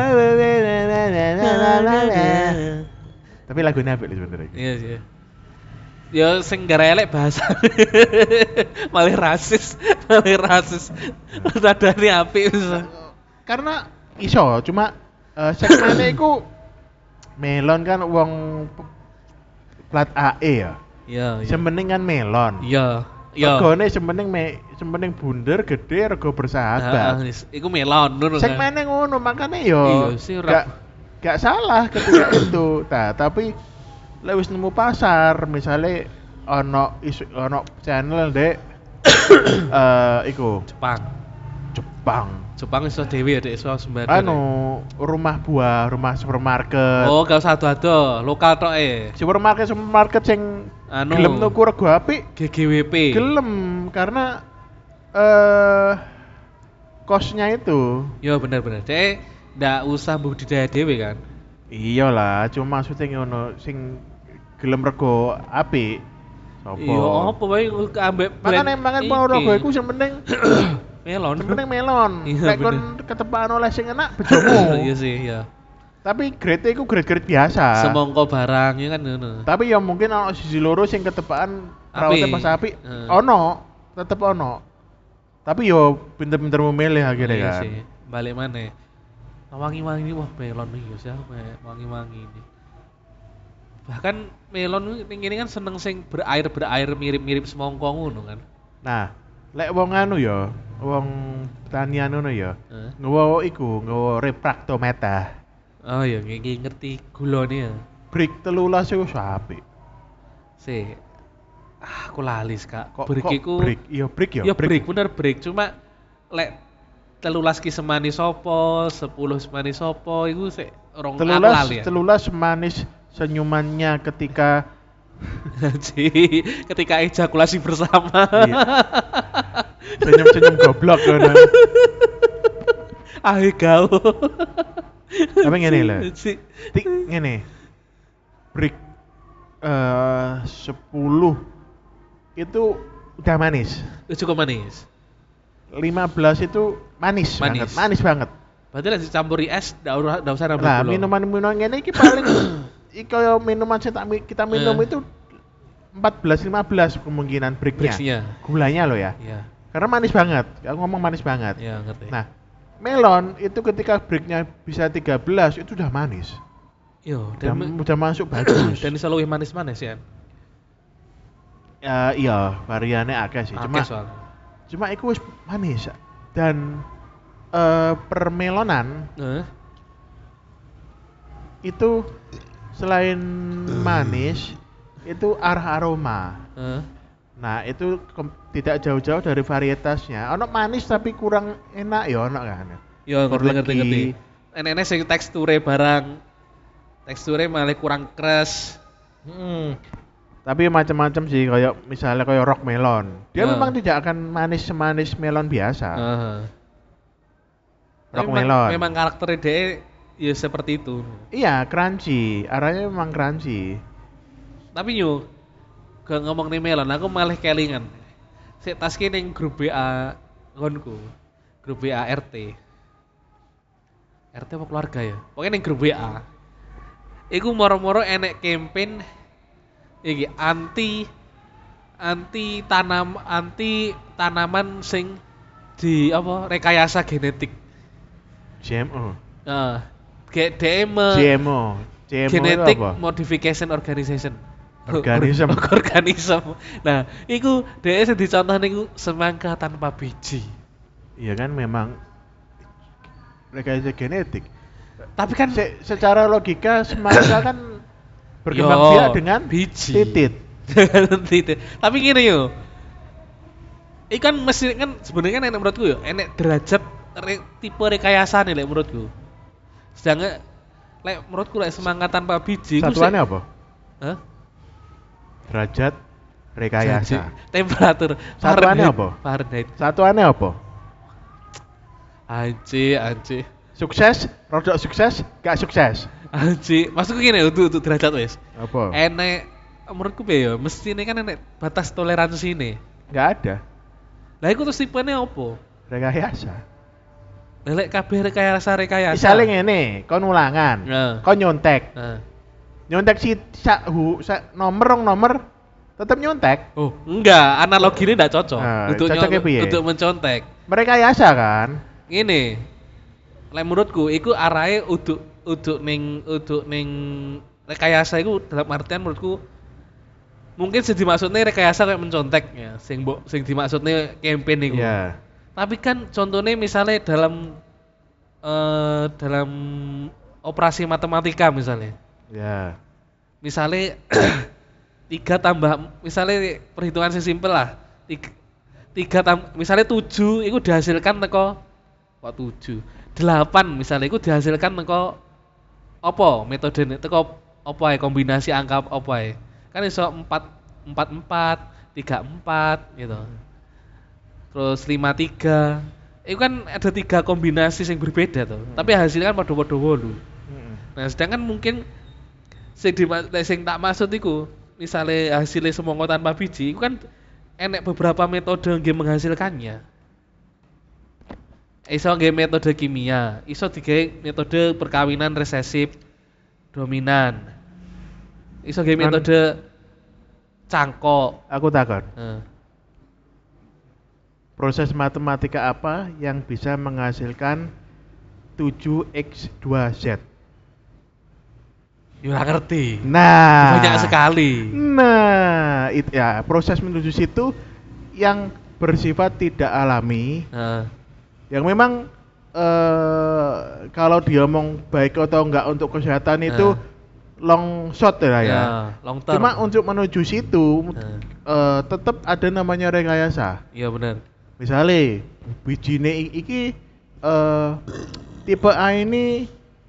Speaker 2: Tapi lagunya apik lho sebenarnya.
Speaker 1: Iya sih. Ya sing gara elek bahasa. malah rasis. Nadane apik wis.
Speaker 2: karena iso cuma segmennya iku melon kan wong plat AE ya.
Speaker 1: Iya, iya.
Speaker 2: Semending kan melon.
Speaker 1: Iya. Iya.
Speaker 2: Regane semending bunder gede rego bersahabat.
Speaker 1: Iku melon ngono kan.
Speaker 2: Segmennya ngono makanya yo
Speaker 1: Iya sih ora.
Speaker 2: gak salah ketika itu. Nah, tapi lek wis nemu pasar, misalnya ono channel dek iku Jepang
Speaker 1: iso dhewe ya dek iso sembada.
Speaker 2: anu rumah supermarket.
Speaker 1: Oh, gak usah ado-ado, lokal tok
Speaker 2: Supermarket sing
Speaker 1: anu
Speaker 2: gelem tuku rego apik,
Speaker 1: GGWP.
Speaker 2: gelem karena kosnya itu.
Speaker 1: Yo bener-bener. Dek ndak usah budidaya dhewe kan.
Speaker 2: Iyalah, cuma maksudnya ngono sing gelem rego apik. Sopo?
Speaker 1: Iya, apa wae ambek
Speaker 2: Makane mau rego iku sing penting
Speaker 1: melon.
Speaker 2: sing penting melon.
Speaker 1: Iya,
Speaker 2: Nek kon
Speaker 1: bener.
Speaker 2: ketepaan oleh sing enak bojomu.
Speaker 1: Iya sih, iya.
Speaker 2: Tapi grade iku grade biasa.
Speaker 1: Semongko barang ya kan ngono.
Speaker 2: Tapi ya mungkin ono sisi loro sing ketepaan perawatnya pas apik. Ono, tetep ono. Tapi yo pinter-pinter memilih akhirnya
Speaker 1: Iya
Speaker 2: kan.
Speaker 1: sih. Balik mana? Wangi-wangi ini wah melon nih ya wangi-wangi ini. Bahkan melon ini kan seneng sing berair mirip-mirip semongko ngono kan.
Speaker 2: Nah, lek wong anu ya, wong pertanian ngono ya. Nggawa nggawa refraktometer.
Speaker 1: Oh iya, ngerti gulone ya.
Speaker 2: Brick 13 iku apik.
Speaker 1: Aku lali Kak.
Speaker 2: Kok
Speaker 1: Brick iku
Speaker 2: brick? Iya brick ya.
Speaker 1: Ya brick bener brick, cuma lek 13 ki semani sopo, 10 semani sopo iku sik rong aku lali ya.
Speaker 2: 13 manis senyumannya ketika
Speaker 1: ketika ejakulasi bersama.
Speaker 2: Iya. Senyum-senyum goblok ngono.
Speaker 1: Kau.
Speaker 2: Tapi ngene lho. Tik ngene. Brick 10 itu udah manis.
Speaker 1: Cukup manis.
Speaker 2: 15 itu manis banget.
Speaker 1: Berarti lek dicampuri es ndak usah nambah
Speaker 2: Nah,
Speaker 1: gula.
Speaker 2: minuman ngene iki paling kaya minuman sing kita minum itu 14-15 kemungkinan bricknya. Gulanya loh ya.
Speaker 1: Iya.
Speaker 2: Karena manis banget. Aku ngomong manis banget.
Speaker 1: Iya, ngerti.
Speaker 2: Nah, melon itu ketika bricknya bisa 13 itu udah manis.
Speaker 1: Yo,
Speaker 2: Udah masuk bagus.
Speaker 1: dan iso luwih manis-manis ya.
Speaker 2: Iya, variannya akeh sih. Cuma itu wis manis. Dan permelonan itu selain manis itu aroma. Nah, itu tidak jauh-jauh dari varietasnya. Ono manis tapi kurang enak ya ono kan.
Speaker 1: Yo, ngerti. Enek sing teksture barang malah kurang keras.
Speaker 2: Tapi macam-macam sih, kayak misalnya kayak rock melon. Dia memang tidak akan manis semanis melon biasa. Rock melon.
Speaker 1: Memang karakternya dia ya seperti itu.
Speaker 2: Iya, crunchy. Arahnya memang crunchy.
Speaker 1: Tapi yo gak ngomong nih melon, aku malah kelingan. Sik taske ning grup BA ngonku. Grup BA RT. RT apa keluarga ya? Pokoknya ning grup BA. Iku moro-moro enek campaign iki anti tanaman sing di apa rekayasa genetik.
Speaker 2: GMO.
Speaker 1: GMO Genetic Modification Organism. Nah, iku dhek sing dicontoh niku semangka tanpa biji.
Speaker 2: Iya kan memang rekayasa genetik.
Speaker 1: Tapi kan
Speaker 2: secara logika semangka kan berkembang biak dengan
Speaker 1: biji.
Speaker 2: Titit.
Speaker 1: Tapi gini yo. Ikan mesti kan sebenarnya kan enak menurutku yo, enak derajat tipe rekayasa nih lek menurutku. Sedangkan lek menurutku lek semangka tanpa biji
Speaker 2: satuannya apa?
Speaker 1: Hah?
Speaker 2: Derajat rekayasa.
Speaker 1: Temperatur.
Speaker 2: Satuannya apa?
Speaker 1: Fahrenheit.
Speaker 2: Satuannya apa?
Speaker 1: Anci.
Speaker 2: Sukses, rodok sukses, gak sukses.
Speaker 1: Anci, maksudku gini untuk derajat wes.
Speaker 2: Apa?
Speaker 1: Enek menurutku ya, mesti ini kan enek batas toleransi ini.
Speaker 2: Gak ada.
Speaker 1: Lah iku terus tipenya apa?
Speaker 2: Rekayasa.
Speaker 1: Lek kabeh rekayasa.
Speaker 2: Misalnya ngene, kon ulangan. Kon nyontek. Nyontek nomor tetap nyontek.
Speaker 1: Oh, enggak, analogi ini enggak cocok.
Speaker 2: Cocoknya piye?
Speaker 1: Untuk mencontek.
Speaker 2: Merekayasa kan?
Speaker 1: Ini Lek menurutku iku arahe uduk ning rekayasa iku dalam artian menurutku mungkin sing dimaksudnya rekayasa kayak mencontek ya, sing dimaksudnya campaign iku.
Speaker 2: Ya.
Speaker 1: Tapi kan contohnya misalnya dalam operasi matematika misalnya.
Speaker 2: Ya.
Speaker 1: Misalnya 3 tambah misalnya perhitungan sing simpel lah. 3 misalnya 7 itu dihasilkan teko 7. 8 misalnya itu dihasilkan teko apa metode teko apa ya kombinasi angka apa ya. Kan iso 4 4 4 3 4 gitu. Terus 5 3. Itu kan ada 3 kombinasi yang berbeda tuh. Tapi hasilnya kan padha-padha 8. Nah, sedangkan mungkin sing tak maksud iku misalnya hasilnya semongko tanpa biji, itu kan enek beberapa metode yang menghasilkannya. Iso nggih metode kimia, iso digawe metode perkawinan resesif dominan. Iso nggih metode cangkok.
Speaker 2: Aku takon.
Speaker 1: Heeh.
Speaker 2: Proses matematika apa yang bisa menghasilkan 7x2z?
Speaker 1: Ya ora ngerti.
Speaker 2: Nah,
Speaker 1: Banyak sekali.
Speaker 2: Nah, ya proses menuju situ yang bersifat tidak alami,
Speaker 1: Heeh.
Speaker 2: yang memang kalau diomong baik atau enggak untuk kesehatan itu long shot ya.
Speaker 1: Long term.
Speaker 2: Cuma untuk menuju situ tetap ada namanya rekayasa.
Speaker 1: Iya benar.
Speaker 2: Misalnya bijine iki tipe A ini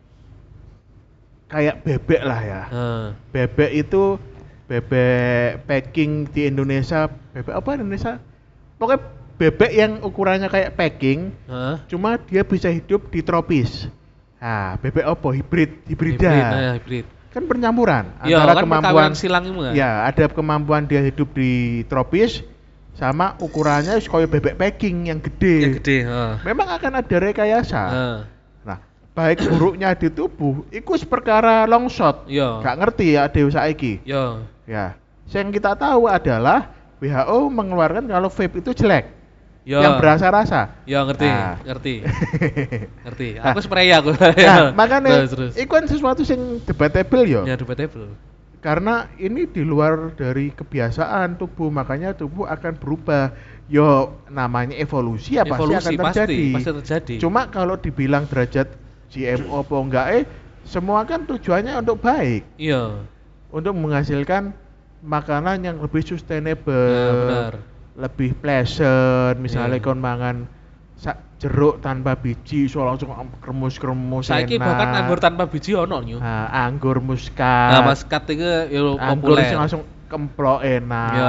Speaker 2: kayak bebek lah ya. Bebek itu bebek packing di Indonesia, bebek apa Indonesia? Pokoknya bebek yang ukurannya kayak packing, cuma dia bisa hidup di tropis. Nah, bebek apa? Hibrida.
Speaker 1: Hibrid.
Speaker 2: Kan pencampuran
Speaker 1: Ya,
Speaker 2: antara
Speaker 1: kan
Speaker 2: kemampuan
Speaker 1: silang itu kan.
Speaker 2: Ya, ada kemampuan dia hidup di tropis sama ukurannya kayak bebek packing yang gede.
Speaker 1: Yang gede,
Speaker 2: Memang akan ada rekayasa. Nah, baik buruknya di tubuh iku perkara long shot.
Speaker 1: Iya.
Speaker 2: Gak ngerti ya dewe saiki.
Speaker 1: Iya.
Speaker 2: Ya. Yang kita tahu adalah WHO mengeluarkan kalau vape itu jelek.
Speaker 1: Iya.
Speaker 2: Yang berasa-rasa.
Speaker 1: Ya ngerti,
Speaker 2: Nah.
Speaker 1: ngerti. Aku spray aku.
Speaker 2: Nah, makanya
Speaker 1: terus.
Speaker 2: iku kan sesuatu yang debatable yo.
Speaker 1: Ya debatable.
Speaker 2: Karena ini di luar dari kebiasaan tubuh, makanya tubuh akan berubah. Yo namanya evolusi ya pasti akan terjadi.
Speaker 1: Pasti terjadi.
Speaker 2: Cuma kalau dibilang derajat GMO apa enggak semua kan tujuannya untuk baik.
Speaker 1: Iya.
Speaker 2: Untuk menghasilkan makanan yang lebih sustainable.
Speaker 1: Ya, benar.
Speaker 2: Lebih pleasant, misalnya
Speaker 1: Iya.
Speaker 2: kon mangan jeruk tanpa biji, so langsung kremus-kremus
Speaker 1: Saiki
Speaker 2: enak.
Speaker 1: bahkan anggur tanpa biji ono nyu.
Speaker 2: Nah, anggur muskat.
Speaker 1: Nah, muskat itu yo
Speaker 2: anggur
Speaker 1: populer.
Speaker 2: sing langsung kemplok enak.
Speaker 1: Iya.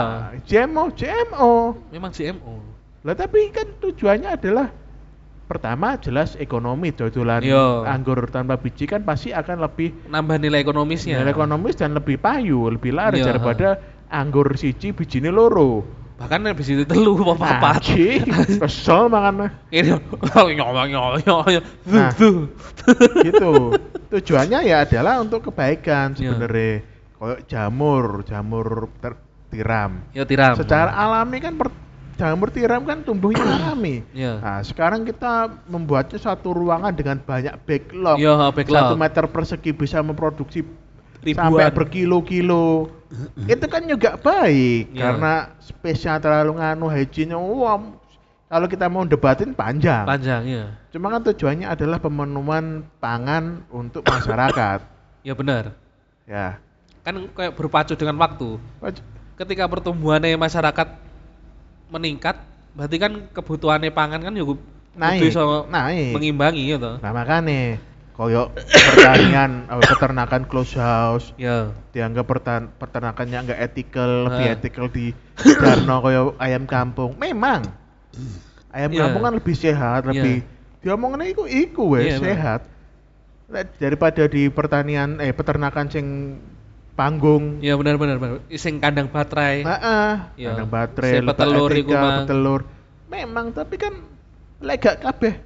Speaker 2: GMO.
Speaker 1: Memang GMO.
Speaker 2: Lah tapi kan tujuannya adalah pertama jelas ekonomi, dodolan
Speaker 1: Iya.
Speaker 2: anggur tanpa biji kan pasti akan lebih
Speaker 1: Nambah nilai ekonomisnya.
Speaker 2: nilai ekonomis dan lebih payu, lebih laris
Speaker 1: Iya.
Speaker 2: daripada anggur siji bijine loro.
Speaker 1: Bahkan habis itu telu apa papat.
Speaker 2: Aji, kesel mangan.
Speaker 1: Ini nyong.
Speaker 2: Nah. Gitu. Tujuannya ya adalah untuk kebaikan sebenarnya. Kayak jamur tiram.
Speaker 1: Ya tiram.
Speaker 2: Secara alami kan jamur tiram kan tumbuhnya alami.
Speaker 1: Iya.
Speaker 2: Nah, sekarang kita membuatnya satu ruangan dengan banyak backlog.
Speaker 1: Iya, backlog.
Speaker 2: 1 meter persegi bisa memproduksi
Speaker 1: Ribuan.
Speaker 2: sampai berkilo-kilo. Itu kan juga baik
Speaker 1: Iya.
Speaker 2: karena space-nya terlalu hygiene-nya kalau kita mau debatin panjang.
Speaker 1: Panjang ya.
Speaker 2: Cuma kan tujuannya adalah pemenuhan pangan untuk masyarakat.
Speaker 1: Ya benar.
Speaker 2: Ya.
Speaker 1: Kan kayak berpacu dengan waktu. Ketika pertumbuhannya masyarakat meningkat, berarti kan kebutuhannya pangan kan juga
Speaker 2: Naik.
Speaker 1: mengimbangi ya toh.
Speaker 2: Nah makanya koyo pertanian peternakan close house
Speaker 1: Ya.
Speaker 2: dianggap peternakannya enggak ethical, lebih ethical di Darno koyo ayam kampung. Memang ayam kampung kan lebih sehat, lebih diomongnya iku wes sehat. Daripada di peternakan sing panggung.
Speaker 1: Ya benar. Sing kandang baterai.
Speaker 2: Iya. Kandang baterai, petelur. Memang tapi kan lek gak kabeh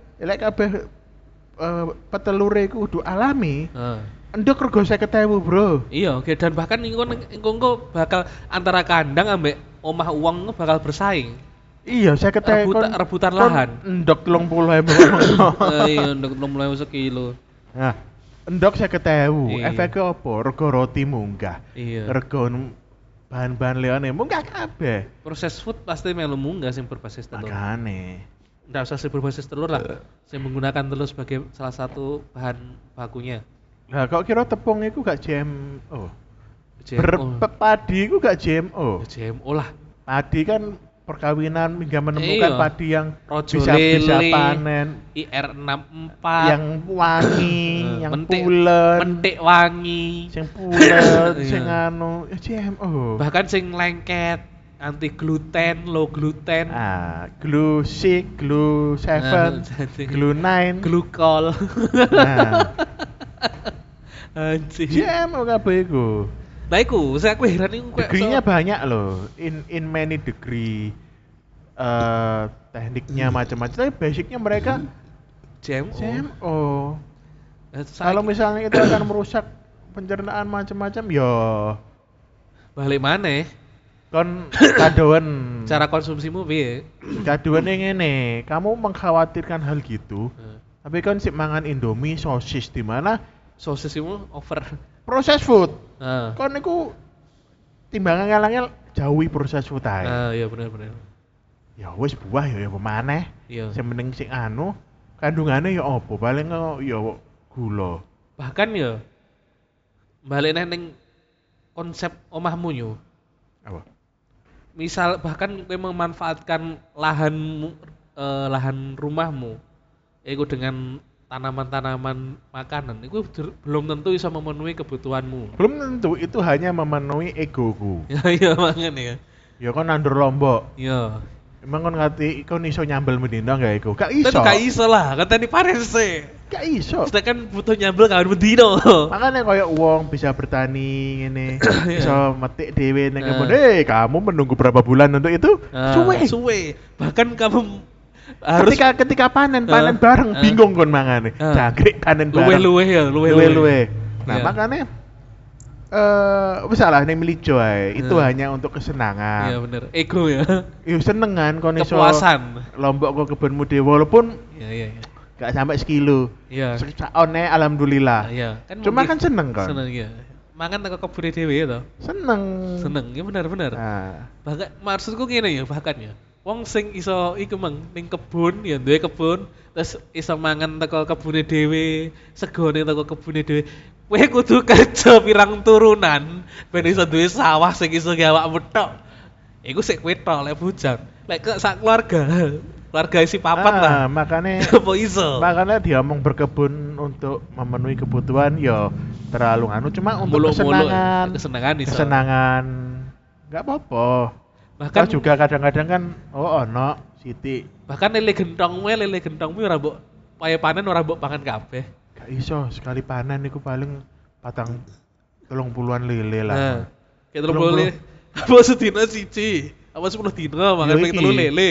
Speaker 2: petelure iku kudu alami. Endek rego 50.000, Bro.
Speaker 1: Iya, oke. Dan bahkan engko bakal antara kandang ambek omah uang bakal bersaing.
Speaker 2: Iya, saya ketemu
Speaker 1: rebutan lahan.
Speaker 2: Endok 30.000.
Speaker 1: Iya, endok 30.000 sekilo.
Speaker 2: Nah, endok 50.000.
Speaker 1: Iya.
Speaker 2: Efeknya apa? Rego roti munggah.
Speaker 1: Iya.
Speaker 2: Rego bahan-bahan liyane munggah kabeh.
Speaker 1: Proses food pasti melu munggah sing berbasis telur.
Speaker 2: Makane.
Speaker 1: Nggak usah sih berbasis telur lah. Saya menggunakan telur sebagai salah satu bahan bakunya.
Speaker 2: Lah kok kira tepung iku gak GMO?
Speaker 1: GMO.
Speaker 2: Padi iku gak GMO.
Speaker 1: GMO lah.
Speaker 2: Padi kan perkawinan hingga menemukan
Speaker 1: Iya.
Speaker 2: padi yang
Speaker 1: Rojo
Speaker 2: bisa
Speaker 1: lele,
Speaker 2: panen,
Speaker 1: IR64
Speaker 2: yang wangi, yang
Speaker 1: mentik,
Speaker 2: pulen,
Speaker 1: mentik wangi.
Speaker 2: sing pulen,
Speaker 1: Iya.
Speaker 2: sing anu GMO.
Speaker 1: Bahkan sing lengket, anti gluten, low gluten,
Speaker 2: Glue 6, Glue 7, Glue 9.
Speaker 1: glukol.
Speaker 2: Nah,
Speaker 1: Anjir.
Speaker 2: GMO kabeh iku.
Speaker 1: Nah iku, aku heran iku kayak
Speaker 2: Degree-nya banyak loh. In many degree. Tekniknya macam-macam. Tapi basicnya mereka
Speaker 1: GMO.
Speaker 2: GMO. Kalau misalnya itu akan merusak pencernaan macam-macam, yo
Speaker 1: balik mana?
Speaker 2: kon kadoan.
Speaker 1: Cara konsumsimu piye?
Speaker 2: Kadoan yang ngene, kamu mengkhawatirkan hal gitu. Tapi kan sik mangan Indomie sosis di mana
Speaker 1: Sosismu over.
Speaker 2: proses food.
Speaker 1: Heeh.
Speaker 2: Kon niku timbangan ngalangnya jauhi proses food ae.
Speaker 1: Iya benar.
Speaker 2: Ya wis buah ya pemaneh.
Speaker 1: Iya.
Speaker 2: Sing mending sing anu kandungannya ya apa? Paling ya gula.
Speaker 1: Bahkan ya balik ning konsep omahmu yo.
Speaker 2: Apa?
Speaker 1: Misal bahkan kowe memanfaatkan lahan rumahmu iku dengan tanaman-tanaman makanan itu belum tentu bisa memenuhi kebutuhanmu.
Speaker 2: Belum tentu itu hanya memenuhi egoku.
Speaker 1: Iya makanya ya.
Speaker 2: Ya kon nandur lombok.
Speaker 1: Iya.
Speaker 2: Emang kon ngati kon iso nyambel medina gak iku? Gak iso.
Speaker 1: Tapi gak iso lah, katanya panen sih.
Speaker 2: Gak iso.
Speaker 1: Sedangkan butuh nyambel kawan bedino.
Speaker 2: Makanya kayak uang bisa bertani ini, bisa metik dhewe ning
Speaker 1: Nah.
Speaker 2: kebun. Kamu menunggu berapa bulan untuk itu?
Speaker 1: Suwe. Bahkan kamu harus
Speaker 2: Ketika panen bareng bingung kon mangane. Jangkrik panen bareng. Luwe-luwe. Nah,
Speaker 1: Iya.
Speaker 2: makanya wis salah ning melijo ae. Itu hanya untuk kesenangan.
Speaker 1: Iya bener, ego ya.
Speaker 2: Ya senengan kon iso
Speaker 1: Kepuasan.
Speaker 2: lombok kok kebunmu dhewe walaupun
Speaker 1: Iya.
Speaker 2: gak sampai sekilo.
Speaker 1: Iya.
Speaker 2: Sakone alhamdulillah.
Speaker 1: Iya.
Speaker 2: Cuma kan seneng kan?
Speaker 1: Seneng ya. Mangan teko kebune dhewe ya to.
Speaker 2: Seneng.
Speaker 1: Seneng, ya bener.
Speaker 2: Nah,
Speaker 1: Bahkan maksudku ngene ya bahkan ya. Wong sing iso iku mang ning kebun ya duwe kebun terus iso mangan teko kebune dhewe, segone teko kebune dhewe. Kowe kudu kerja pirang turunan ben iso duwe sawah sing iso gawakmu tok. Iku sik kowe tok lek bujang. Lek ke sak keluarga isi papat lah.
Speaker 2: makanya
Speaker 1: Apa iso?
Speaker 2: makanya dia ngomong berkebun untuk memenuhi kebutuhan ya terlalu anu cuma untuk
Speaker 1: Muluk-muluk,
Speaker 2: kesenangan
Speaker 1: iso.
Speaker 2: kesenangan nggak apa-apa.
Speaker 1: Bahkan
Speaker 2: Kan juga kadang-kadang kan ono siti
Speaker 1: bahkan lele gentongmu ora mbok paye panen ora mbok pangan kabeh.
Speaker 2: gak iso sekali panen iku paling 30-an lele lah.
Speaker 1: Nah, kayak terus
Speaker 2: 30.
Speaker 1: boleh. Apa sedina siji? Apa 10 dina makan
Speaker 2: Yo
Speaker 1: ping
Speaker 2: iki,
Speaker 1: 3 lele?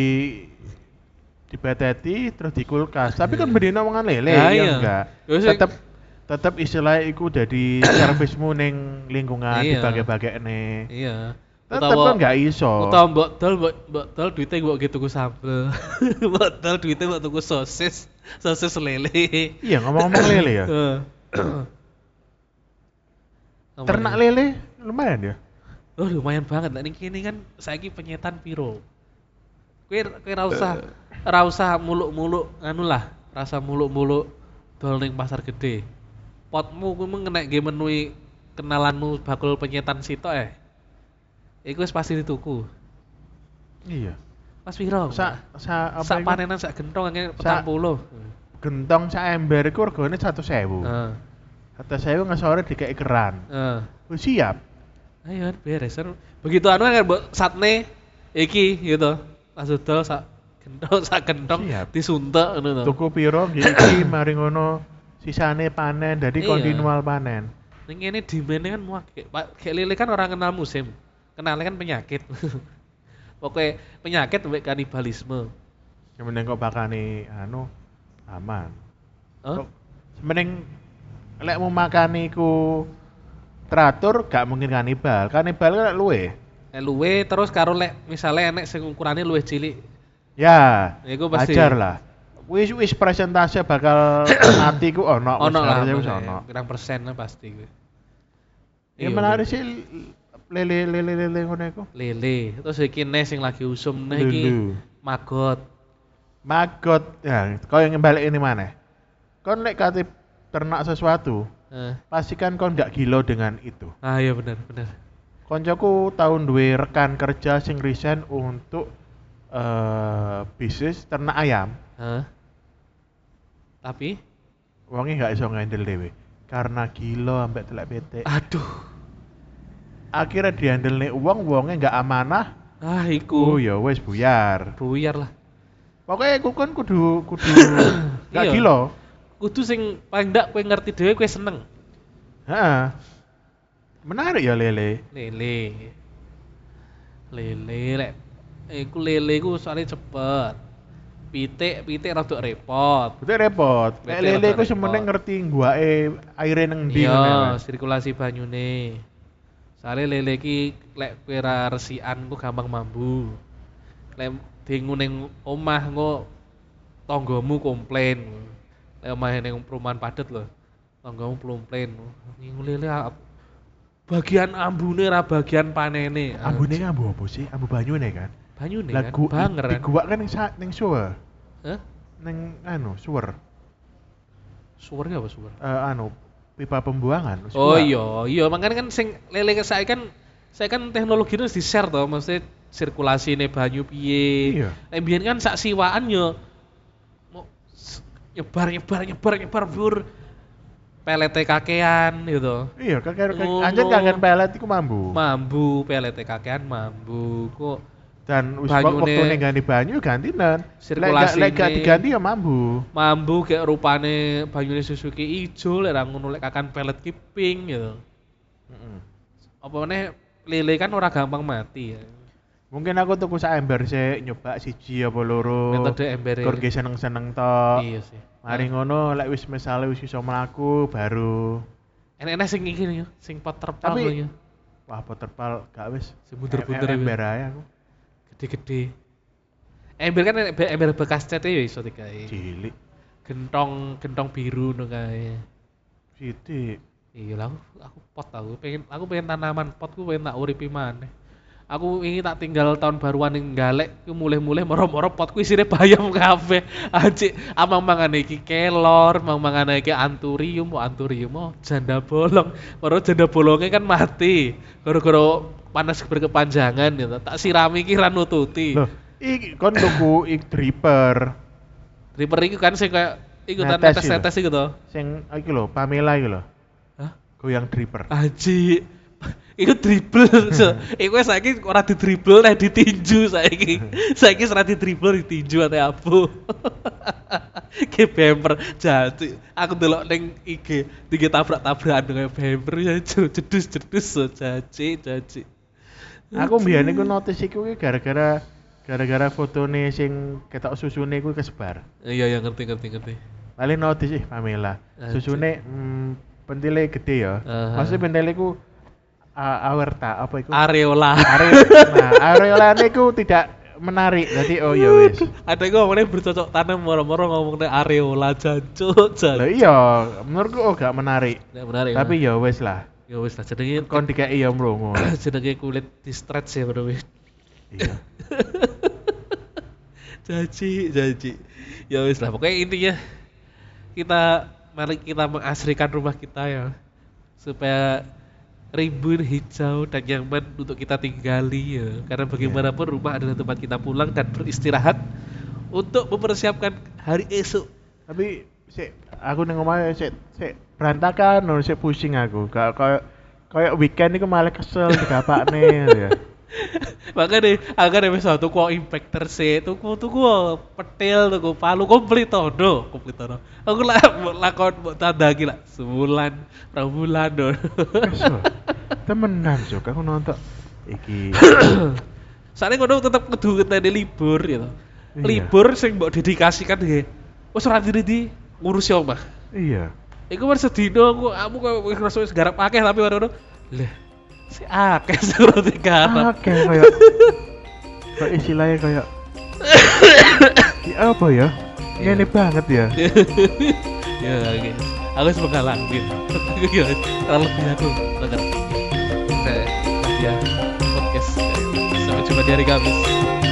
Speaker 2: Dipeteti terus di kulkas. Tapi kan bedino mangan lele
Speaker 1: Nah,
Speaker 2: ya
Speaker 1: iya.
Speaker 2: enggak.
Speaker 1: Yo sing-
Speaker 2: Tetep istilah iku dadi servismu ning lingkungan
Speaker 1: Iya.
Speaker 2: dibagi-bagekne.
Speaker 1: Iya.
Speaker 2: Tetep kan gak iso.
Speaker 1: Utawa mbok dol duite mbok gitu tuku sambel. Mbok dol duite mbok tuku sosis lele.
Speaker 2: Iya ngomong-ngomong lele ya.
Speaker 1: Heeh.
Speaker 2: Ternak lele lumayan ya.
Speaker 1: Oh lumayan banget. Nek ning kene kan saiki penyetan piro. Kowe ra usah muluk-muluk anu lah, rasa muluk-muluk dol ning pasar gede. Potmu kuwi mung nek nggih menuhi kenalanmu bakul penyetan sitok iku wis pasti dituku.
Speaker 2: Iya.
Speaker 1: Mas piro?
Speaker 2: Sak apa
Speaker 1: sak
Speaker 2: iku?
Speaker 1: panenan sak gentong nge
Speaker 2: Sak-
Speaker 1: 40.
Speaker 2: Gentong sak ember iku regane 100.000.
Speaker 1: Heeh.
Speaker 2: 100.000 ngesore dikek keran.
Speaker 1: Heeh.
Speaker 2: Wis siap.
Speaker 1: Ayo beres. Begitu anu kan mbok satne iki gitu. Langsung dol sak gentong
Speaker 2: Siap.
Speaker 1: disuntek ngono to.
Speaker 2: Tuku piro nggih iki mari ngono sisane panen dadi
Speaker 1: Iya.
Speaker 2: kontinual panen.
Speaker 1: Ning kene demand kan muak. Kayak lele kan orang kenal musim. Kenalnya kan penyakit. Pokoknya penyakit sampai kanibalisme.
Speaker 2: Yang mending kok bakane anu aman.
Speaker 1: Oh?
Speaker 2: Kok mending lek mau makan iku teratur gak mungkin kanibal. Kanibal kan luwe.
Speaker 1: Lek luwe terus karo lek misale enek sing ukurane luwih cilik.
Speaker 2: Ya.
Speaker 1: Iku pasti.
Speaker 2: Wajar lah. Wis persentase bakal mati ku ono
Speaker 1: lah,
Speaker 2: wis ono.
Speaker 1: Pirang persen pasti kuwi.
Speaker 2: Ya menarik sih lele ngono iku.
Speaker 1: Lele. Terus iki nih sing lagi usum nih iki maggot. Ya, kau yang balik ini mana? Kau lek kate ternak sesuatu, pastikan kau nggak gila dengan itu. Ah iya benar.
Speaker 2: Koncoku tahun duwe rekan kerja sing resign untuk bisnis ternak ayam.
Speaker 1: Tapi
Speaker 2: wonge nggak iso ngendel dhewe karena gila ambek telek PT.
Speaker 1: Aduh.
Speaker 2: Akhirnya dihandle nih wonge nggak amanah.
Speaker 1: Ah iku.
Speaker 2: Oh ya wes buyar
Speaker 1: lah.
Speaker 2: Pokoknya aku kan kudu gak gila.
Speaker 1: Kudu sing paling ndak kowe ngerti dhewe kowe seneng.
Speaker 2: Heeh. Menarik ya lele.
Speaker 1: Lele rek. Iku lele ku soalnya cepet. Pitik rada repot.
Speaker 2: Lek lele ku semene ngerti guake aire nang ndi
Speaker 1: ngene. Iya, sirkulasi banyune. Soale lele iki lek kowe ra resikan ku gampang mambu. Lek dingu ning omah engko tanggamu komplain. Lek omahe ning perumahan padet lho. Tanggamu komplain. Ngingu lele bagian ambune ra bagian panene.
Speaker 2: Ambune ambu apa sih? Ambu banyune kan?
Speaker 1: Banyune kan banger kan.
Speaker 2: Diguak kan ning sewer.
Speaker 1: Hah?
Speaker 2: Ning sewer.
Speaker 1: Sewer apa sewer?
Speaker 2: Pipa pembuangan.
Speaker 1: Oh iya, makanya kan sing lele saya kan teknologi itu di-share to, maksudnya sirkulasi ini banyu piye. Iya. Biyen kan sak siwaan yo nyebar bur pelete kakean gitu.
Speaker 2: Iya, anjen kangen pelet iku mambu.
Speaker 1: Mambu pelete kakean mambu kok.
Speaker 2: Dan waktune ganti banyu gantinan.
Speaker 1: Sirkulasi
Speaker 2: lek gak diganti ya mambu.
Speaker 1: Mambu kayak rupane banyune Suzuki ijo lek ra ngono lek kakan pelet ki pink gitu. Apa meneh lele kan ora gampang mati ya.
Speaker 2: Mungkin aku tuku sak ember sik nyoba siji apa loro.
Speaker 1: Metode embere.
Speaker 2: Kur ge seneng-seneng tok.
Speaker 1: Iya sih.
Speaker 2: Mari ngono lek wis misale wis iso mlaku baru
Speaker 1: enek sing iki yo, sing pot terpal yo.
Speaker 2: Wah, pot terpal gak wis.
Speaker 1: Sing bunder-bunder
Speaker 2: ember ae aku.
Speaker 1: Gede-gede. Ember kan ember bekas cat ya iso digawe.
Speaker 2: Cilik.
Speaker 1: Gentong biru ngono kae.
Speaker 2: Sithik.
Speaker 1: Iya lah aku pot aku pengen tanaman pot ku pengen tak uripi maneh. Aku ingin tak tinggal tahun baruan ning Galek ku mulih-mulih moro-moro potku isine bayam kabeh. Anjir, amang mangane iki kelor, mangane iki anturium janda bolong. Baru janda bolongnya kan mati. Gara-gara panas berkepanjangan gitu. Tak sirami iki ra nututi.
Speaker 2: Loh, iki kon tuku dripper.
Speaker 1: Dripper iki kan sing kayak ikutan netes-netes iku to.
Speaker 2: Sing iki lho, Pamela iki lho.
Speaker 1: Hah?
Speaker 2: Goyang dripper.
Speaker 1: Anjir. Iku dribble, iku saiki ora didribble nek ditinju saiki. Saiki ora didribble ditinju ate abu. Ke bemper jati. Aku delok ning IG tabrak-tabrakan dengan bemper ya jedus jaci.
Speaker 2: Aku mbiyen iku notice iku gara-gara fotone sing ketok susune iku kesebar.
Speaker 1: Iya ngerti.
Speaker 2: Paling notice Pamela. Susune pentile gede ya. Maksudnya pentile iku aorta apa itu?
Speaker 1: Areola.
Speaker 2: Nah, areola niku tidak menarik. Jadi oh ya wis.
Speaker 1: Ada ngomongnya bercocok tanam moro-moro ngomongnya areola jancuk.
Speaker 2: Lah iya, menurutku gak menarik.
Speaker 1: Gak menarik.
Speaker 2: Tapi ya wis lah.
Speaker 1: Ya wis lah jenenge
Speaker 2: kon dikeki ya mlongo.
Speaker 1: Jenenge kulit di stretch ya bro.
Speaker 2: Iya.
Speaker 1: Janji. Ya wis lah pokoknya intinya mari kita mengasrikan rumah kita ya. Supaya rimbun hijau dan nyaman untuk kita tinggali ya. Karena bagaimanapun rumah adalah tempat kita pulang dan beristirahat untuk mempersiapkan hari esok.
Speaker 2: Tapi aku ning omah sik berantakan, sik pusing aku. Kayak weekend iku malah kesel digapakne ya.
Speaker 1: Makanya agar wis tuku impactor sih, tuku petil, tuku palu komplit to. Aku lakon mbok tandagi lah sebulan, rong bulan do.
Speaker 2: Temenan Jok, aku nonton iki.
Speaker 1: Soalnya ngono tetep kudu ngenteni libur gitu. Libur sing mbok dedikasikan nggih. Wis ora di ngurusi omah.
Speaker 2: Iya.
Speaker 1: Iku wis sedina aku koyo wis ngerasa wis garap akeh tapi ngono. Lah Si akeh roti garam.
Speaker 2: Oke kayak kayak istilahnya kayak ya apa ya?
Speaker 1: Iya.
Speaker 2: Ini banget ya.
Speaker 1: Ya oke. Aku harus menghalangi. Terlalu lebih aku mengerti. Saya dia podcast. Sampai jumpa di hari Kamis.